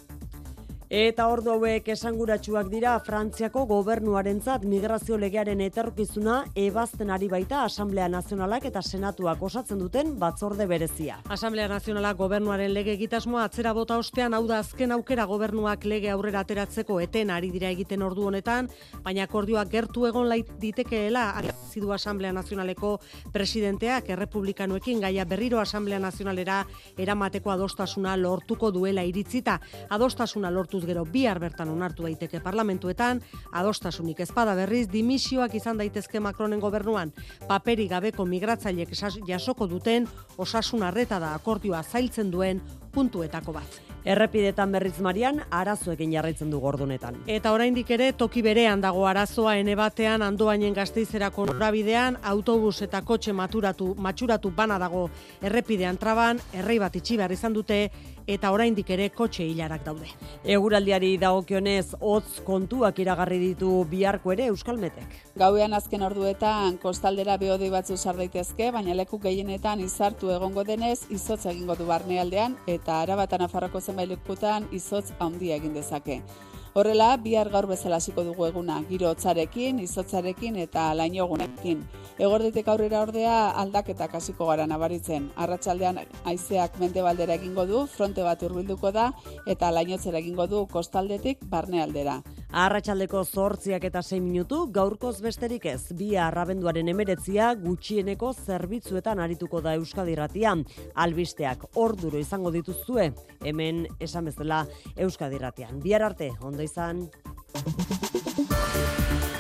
Eta ordu hauek esanguratsuak dira Frantziako gobernuarentzat migrazio legearen etorkizuna ebazten ari baita Asamblea Nazionalak eta Senatuak osatzen duten batzorde berezia. Asamblea Nazionalak gobernuaren lege egitasmoa atzera bota ostean, hau da azken aukera gobernuak lege aurrera ateratzeko eten ari dira egiten ordu honetan, baina akordioa gertu egon ditekeela adierazi du Asamblea Nazionaleko presidenteak errepublikanoekin gaia berriro Asamblea Nazionalera eramateko adostasuna lortuko duela iritzita. Adostasuna lortu gero bihar bertan onartu daiteke parlamentuetan, adostasunik ezpada berriz dimisioak izan daitezke Macronen gobernuan. Paperi gabeko migratzaileek jasoko duten osasun arreta da akordioa zailtzen duen puntuetako bat. Errepidetan berriz Marian arazoekin jarraitzen du gordunetan. Eta oraindik ere toki berean dago arazoa ene batean Andoainen Gasteizerako norabidean autobus eta kotxe matxuratu bana dago errepidean traban, errei bat itxi behar izan dute eta oraindik ere kotxe ilarak daude. Eguraldiari dagokionez hotz kontuak iragarri ditu biharko ere Euskalmetek. Gauean azken orduetan kostaldera behodei batzu sar daitezke, baina leku gehienetan izartu egongo denez izotz egingo du barnealdean eta Araba eta Nafarroako zenbait lekutan izotz handia egin dezake. Horrela, bihar gaur bezala hasiko dugu eguna, giro hotzarekin, izotzarekin eta lainogunekin. Eguerditik aurrera ordea aldaketak hasiko gara nabaritzen. Arratsaldean haizeak mendebaldera egingo du, fronte bat hurbilduko da eta lainotzera egingo du kostaldetik barnealdera. Arratsaldeko 8 eta 6 minutu, gaurkoz besterik ez. Bihar abenduaren 19 gutxieneko zerbitzuetan arituko da Euskadi Irratian. Albisteak orduro izango dituzue, hemen esan bezala Euskadi Irratian. Bihar arte, ondo izan.